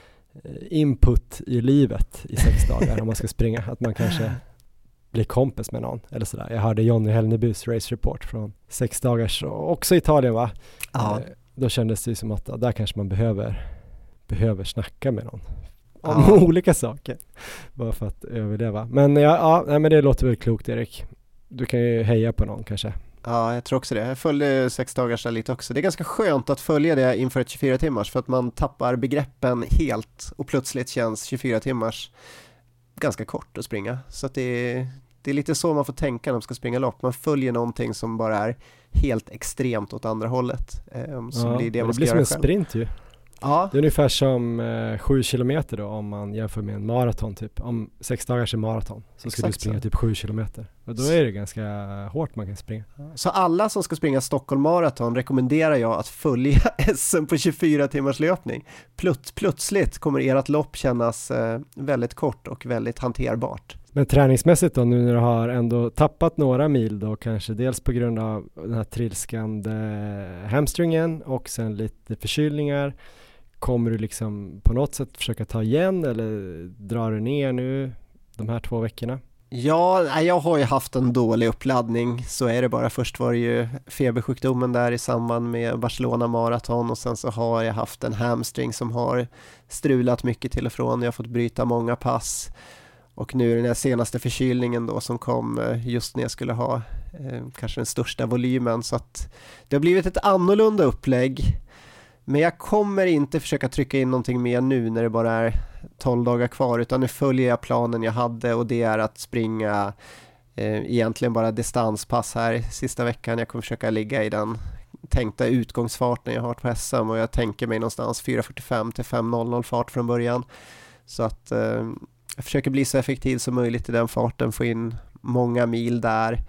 input i livet i sex dagar om man ska springa. Att man kanske bli kompis med någon eller sådär. Jag hörde Johnny Hellnebys race report från sex dagars också i Italien va? Ja. Eh, då kändes det som att där kanske man behöver behöver snacka med någon om ja. olika saker bara för att överleva. Men ja, ja nej, men det låter väl klokt Erik. Du kan ju heja på någon kanske. Ja, jag tror också det. Jag följde sex dagars lite också. Det är ganska skönt att följa det inför ett tjugofyra timmars för att man tappar begreppen helt och plötsligt känns tjugofyra timmars ganska kort att springa. Så att det är, det är lite så man får tänka när man ska springa lopp. Man följer någonting som bara är helt extremt åt andra hållet. Eh, som ja, blir det, man det ska blir som göra en själv. Sprint ju. Ja. Det är ungefär som eh, sju kilometer då om man jämför med en maraton typ. Om sex dagars är maraton så ska Exakt du springa så. typ sju kilometer. Och då är det ganska hårt man kan springa. Så alla som ska springa Stockholm maraton rekommenderar jag att följa S M på tjugofyra timmars löpning. Plut, plötsligt kommer ert lopp kännas eh, väldigt kort och väldigt hanterbart. Men träningsmässigt då, nu när du har ändå tappat några mil då, kanske dels på grund av den här trilskande hamstringen och sen lite förkylningar, kommer du liksom på något sätt försöka ta igen eller drar du ner nu de här två veckorna? Ja, jag har ju haft en dålig uppladdning, så är det bara. Först var det ju febersjukdomen där i samband med Barcelona maraton och sen så har jag haft en hamstring som har strulat mycket till och från. Jag har fått bryta många pass. Och nu den här senaste förkylningen då som kom just när jag skulle ha eh, kanske den största volymen. Så att det har blivit ett annorlunda upplägg. Men jag kommer inte försöka trycka in någonting mer nu när det bara är tolv dagar kvar. Utan nu följer jag planen jag hade och det är att springa eh, egentligen bara distanspass här sista veckan. Jag kommer försöka ligga i den tänkta utgångsfarten jag har på S M. Och jag tänker mig någonstans fyra fyrtiofem till fem noll noll fart från början. Så att... Eh, Jag försöker bli så effektiv som möjligt i den farten, få in många mil där.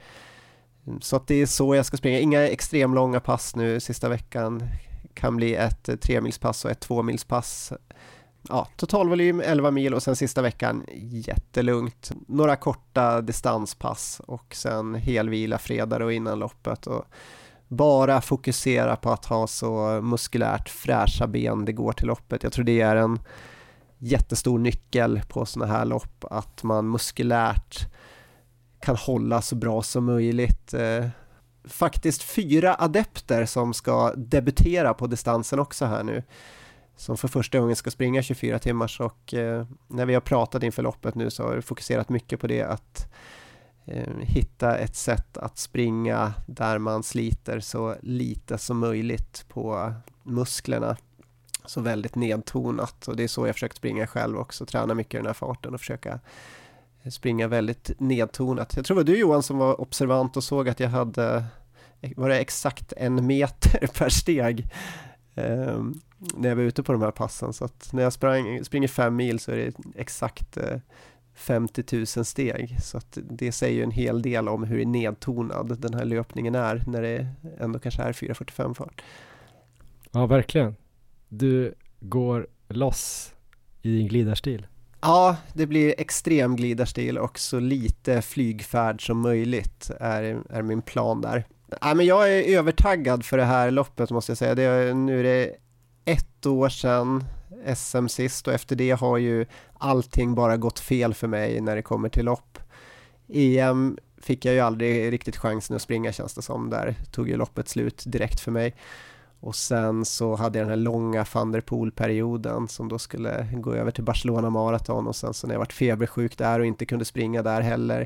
Så att det är så jag ska springa. Inga extremt långa pass nu sista veckan. Kan bli ett tremilspass och ett tvåmilspass. Ja, totalvolym elva mil och sen sista veckan jättelugnt. Några korta distanspass och sen helvila fredag och innan loppet. Och bara fokusera på att ha så muskulärt fräscha ben det går till loppet. Jag tror det är en jättestor nyckel på såna här lopp, att man muskulärt kan hålla så bra som möjligt. Eh, faktiskt fyra adepter som ska debutera på distansen också här nu, som för första gången ska springa tjugofyra timmars och eh, när vi har pratat inför loppet nu så har vi fokuserat mycket på det, att eh, hitta ett sätt att springa där man sliter så lite som möjligt på musklerna. Så väldigt nedtonat, och det är så jag försökt springa själv också, träna mycket i den här farten och försöka springa väldigt nedtonat. Jag tror det var du, Johan, som var observant och såg att jag hade, var det exakt en meter per steg eh, när jag var ute på de här passen. Så att när jag sprang, springer fem mil så är det exakt eh, femtio tusen steg. Så att det säger ju en hel del om hur nedtonad den här löpningen är när det ändå kanske är fyra fyrtiofem fart. Ja, verkligen. Du går loss i din glidarstil. Ja, det blir extrem glidarstil och så lite flygfärd som möjligt är, är min plan där. Ja, men jag är övertaggad för det här loppet, måste jag säga. Det är, nu är det ett år sedan S M sist, och efter det har ju allting bara gått fel för mig när det kommer till lopp. E M fick jag ju aldrig riktigt chansen att springa, känns det som. Där tog ju loppet slut direkt för mig. Och sen så hade jag den här långa Van der Poel-perioden som då skulle gå över till Barcelona Marathon, och sen så när jag varit febersjuk där och inte kunde springa där heller.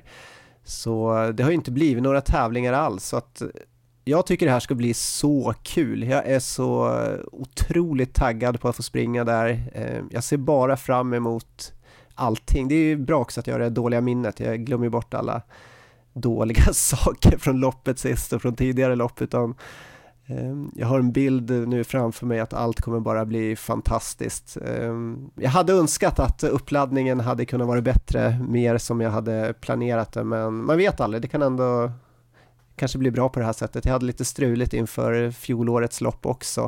Så det har ju inte blivit några tävlingar alls, så att jag tycker det här ska bli så kul. Jag är så otroligt taggad på att få springa där. Jag ser bara fram emot allting. Det är ju bra också att jag har det dåliga minnet. Jag glömmer bort alla dåliga saker från loppet sist och från tidigare lopp, utan jag har en bild nu framför mig att allt kommer bara bli fantastiskt. Jag hade önskat att uppladdningen hade kunnat vara bättre, mer som jag hade planerat det, men man vet aldrig, det kan ändå kanske bli bra på det här sättet. Jag hade lite struligt inför fjolårets lopp också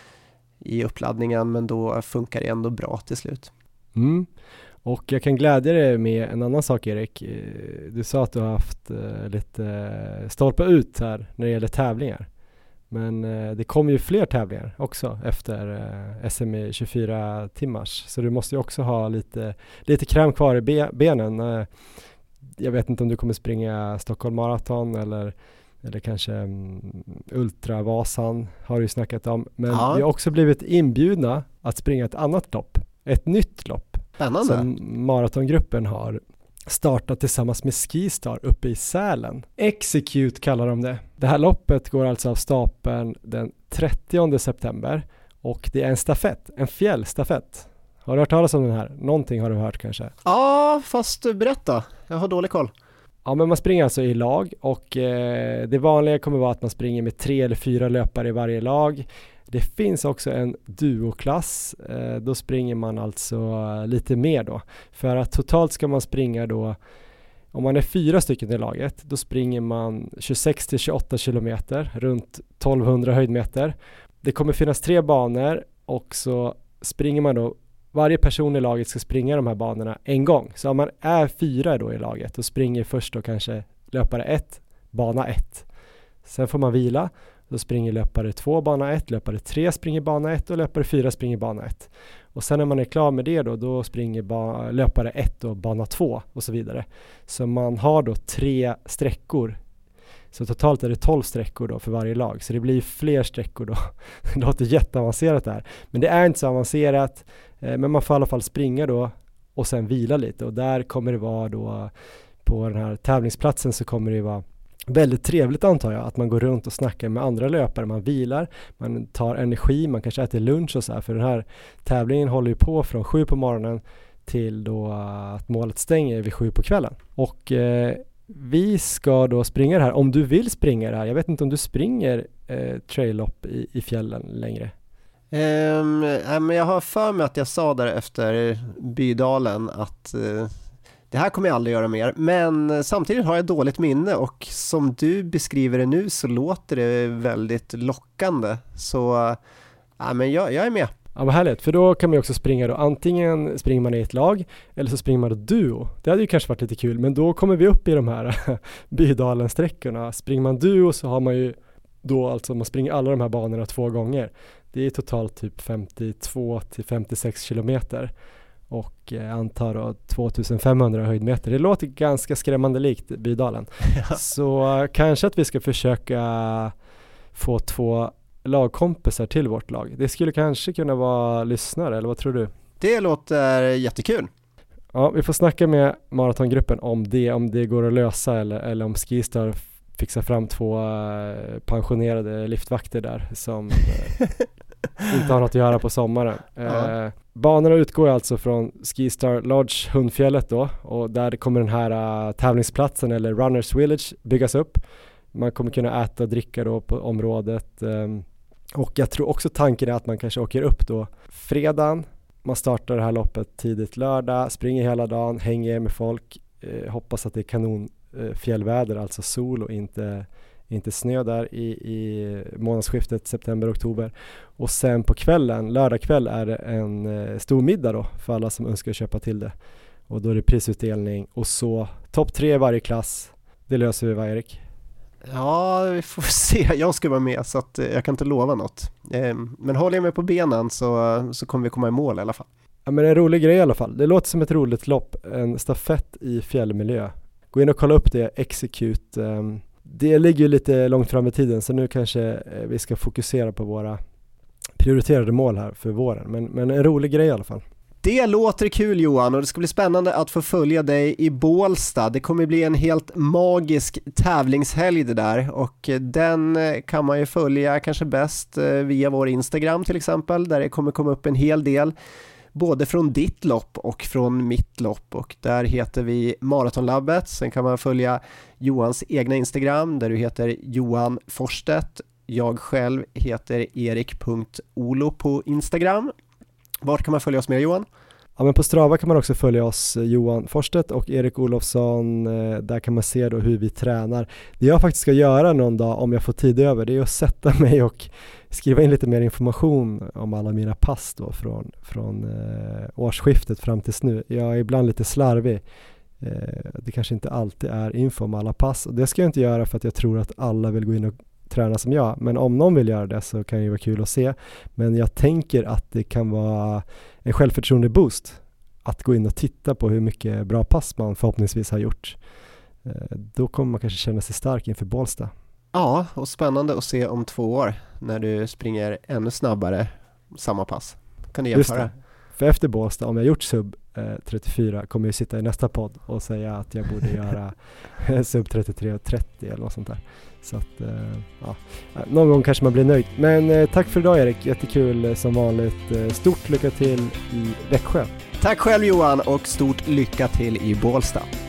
i uppladdningen, men då funkar det ändå bra till slut. Mm. Och jag kan glädja dig med en annan sak, Erik. Du sa att du har haft lite stolpa ut här när det gäller tävlingar. Men eh, det kommer ju fler tävlingar också efter eh, S M i tjugofyra timmars. Så du måste ju också ha lite, lite kräm kvar i be- benen. Eh, jag vet inte om du kommer springa Stockholm Marathon eller, eller kanske um, Ultravasan har du ju snackat om. Men ja. vi har också blivit inbjudna att springa ett annat lopp. Ett nytt lopp. Spännande. Som maratongruppen har startat tillsammans med Skistar uppe i Sälen. Execute kallar de det. Det här loppet går alltså av stapeln den trettionde september och det är en stafett, en fjällstafett. Har du hört talas om den här? Någonting har du hört kanske? Ja, fast berätta. Jag har dålig koll. Ja, men man springer alltså i lag och eh, det vanliga kommer vara att man springer med tre eller fyra löpare i varje lag. Det finns också en duoklass, eh, då springer man alltså lite mer då. För att totalt ska man springa då, om man är fyra stycken i laget, då springer man tjugosex till tjugoåtta kilometer, runt tolvhundra höjdmeter. Det kommer finnas tre banor och så springer man då, varje person i laget ska springa de här banorna en gång. Så om man är fyra då i laget, då springer först då kanske löpare ett, bana ett. Sen får man vila. Då springer löpare två bana ett, löpare tre springer bana ett och löpare fyra springer bana ett. Och sen när man är klar med det då, då springer ba- löpare ett och bana två och så vidare. Så man har då tre sträckor. Så totalt är det tolv sträckor då för varje lag. Så det blir fler sträckor då. Det låter jätteavancerat där. Men det är inte så avancerat. Eh, men man får i alla fall springa då och sen vila lite. Och där kommer det vara då, på den här tävlingsplatsen så kommer det vara väldigt trevligt, antar jag, att man går runt och snackar med andra löpare, man vilar, man tar energi, man kanske äter lunch och så här, för den här tävlingen håller ju på från sju på morgonen till då att målet stänger vid sju på kvällen. Och eh, vi ska då springa det här, om du vill springa det här, jag vet inte om du springer eh, trail-lopp i, i fjällen längre. Um, äh, men jag har för mig att jag sa där efter Bydalen att uh, det här kommer jag aldrig göra mer, men samtidigt har jag dåligt minne och som du beskriver det nu så låter det väldigt lockande. Så ja, men jag, jag är med. Ja, vad härligt, för då kan man ju också springa då. Antingen springer man i ett lag eller så springer man då duo. Det hade ju kanske varit lite kul, men då kommer vi upp i de här Bydalen-sträckorna. Springer man duo så har man ju då alltså, man springer alla de här banorna två gånger. Det är totalt typ femtiotvå till femtiosex kilometer. Och eh, antar då tvåtusenfemhundra höjdmeter. Det låter ganska skrämmande likt Bydalen. Ja. Så eh, kanske att vi ska försöka få två lagkompisar till vårt lag. Det skulle kanske kunna vara lyssnare, eller vad tror du? Det låter jättekul. Ja, vi får snacka med maratongruppen om det, om det går att lösa eller, eller om Skistar fixar fram två eh, pensionerade liftvakter där som... Eh, inte har något att göra på sommaren. Ja. Eh, banorna utgår alltså från Skistar Lodge, Hundfjället då, och där kommer den här uh, tävlingsplatsen eller Runners Village byggas upp. Man kommer kunna äta och dricka då på området. Um, och jag tror också tanken är att man kanske åker upp då fredagen. Man startar det här loppet tidigt lördag, springer hela dagen, hänger med folk. Eh, hoppas att det är kanon eh, fjällväder, alltså sol och inte, inte snö där i, i månadsskiftet september-oktober. Och sen på kvällen, lördag kväll, är det en eh, stor middag då för alla som önskar köpa till det. Och då är det prisutdelning och så topp tre i varje klass. Det löser vi, va, Erik? Ja, vi får se. Jag ska vara med så att jag kan inte lova något. Men håller jag mig på benen så, så kommer vi komma i mål i alla fall. Ja, men en rolig grej i alla fall. Det låter som ett roligt lopp. En stafett i fjällmiljö. Gå in och kolla upp det, Execute. Det ligger ju lite långt fram i tiden så nu kanske vi ska fokusera på våra prioriterade mål här för våren. Men, men en rolig grej i alla fall. Det låter kul, Johan, och det ska bli spännande att få följa dig i Bålsta. Det kommer bli en helt magisk tävlingshelg det där, och den kan man ju följa kanske bäst via vår Instagram till exempel, där det kommer komma upp en hel del både från ditt lopp och från mitt lopp, och där heter vi Maratonlabbet. Sen kan man följa Johans egna Instagram där du heter Johan Forstedt. Jag själv heter erik punkt olo på Instagram. Vart kan man följa oss med, Johan? Ja, men på Strava kan man också följa oss, Johan Forstedt och Erik Olofsson. Där kan man se då hur vi tränar. Det jag faktiskt ska göra någon dag om jag får tid över, det är att sätta mig och skriva in lite mer information om alla mina pass då från, från eh, årsskiftet fram tills nu. Jag är ibland lite slarvig. Eh, det kanske inte alltid är info om alla pass. Och det ska jag inte göra för att jag tror att alla vill gå in och träna som jag, men om någon vill göra det så kan det ju vara kul att se. Men jag tänker att det kan vara en självförtroende boost att gå in och titta på hur mycket bra pass man förhoppningsvis har gjort. Då kommer man kanske känna sig stark inför Bålsta. Ja, och spännande att se om två år när du springer ännu snabbare samma pass. Kan du jämföra? För efter Bålsta, om jag gjort sub eh, trettiofyra, kommer jag sitta i nästa podd och säga att jag borde göra sub trettiotre och trettio eller något sånt där. Så att, eh, ja, någon gång kanske man blir nöjd. Men eh, tack för idag, Erik, jättekul eh, som vanligt. Eh, stort lycka till i Växjö. Tack själv, Johan, och stort lycka till i Bålsta.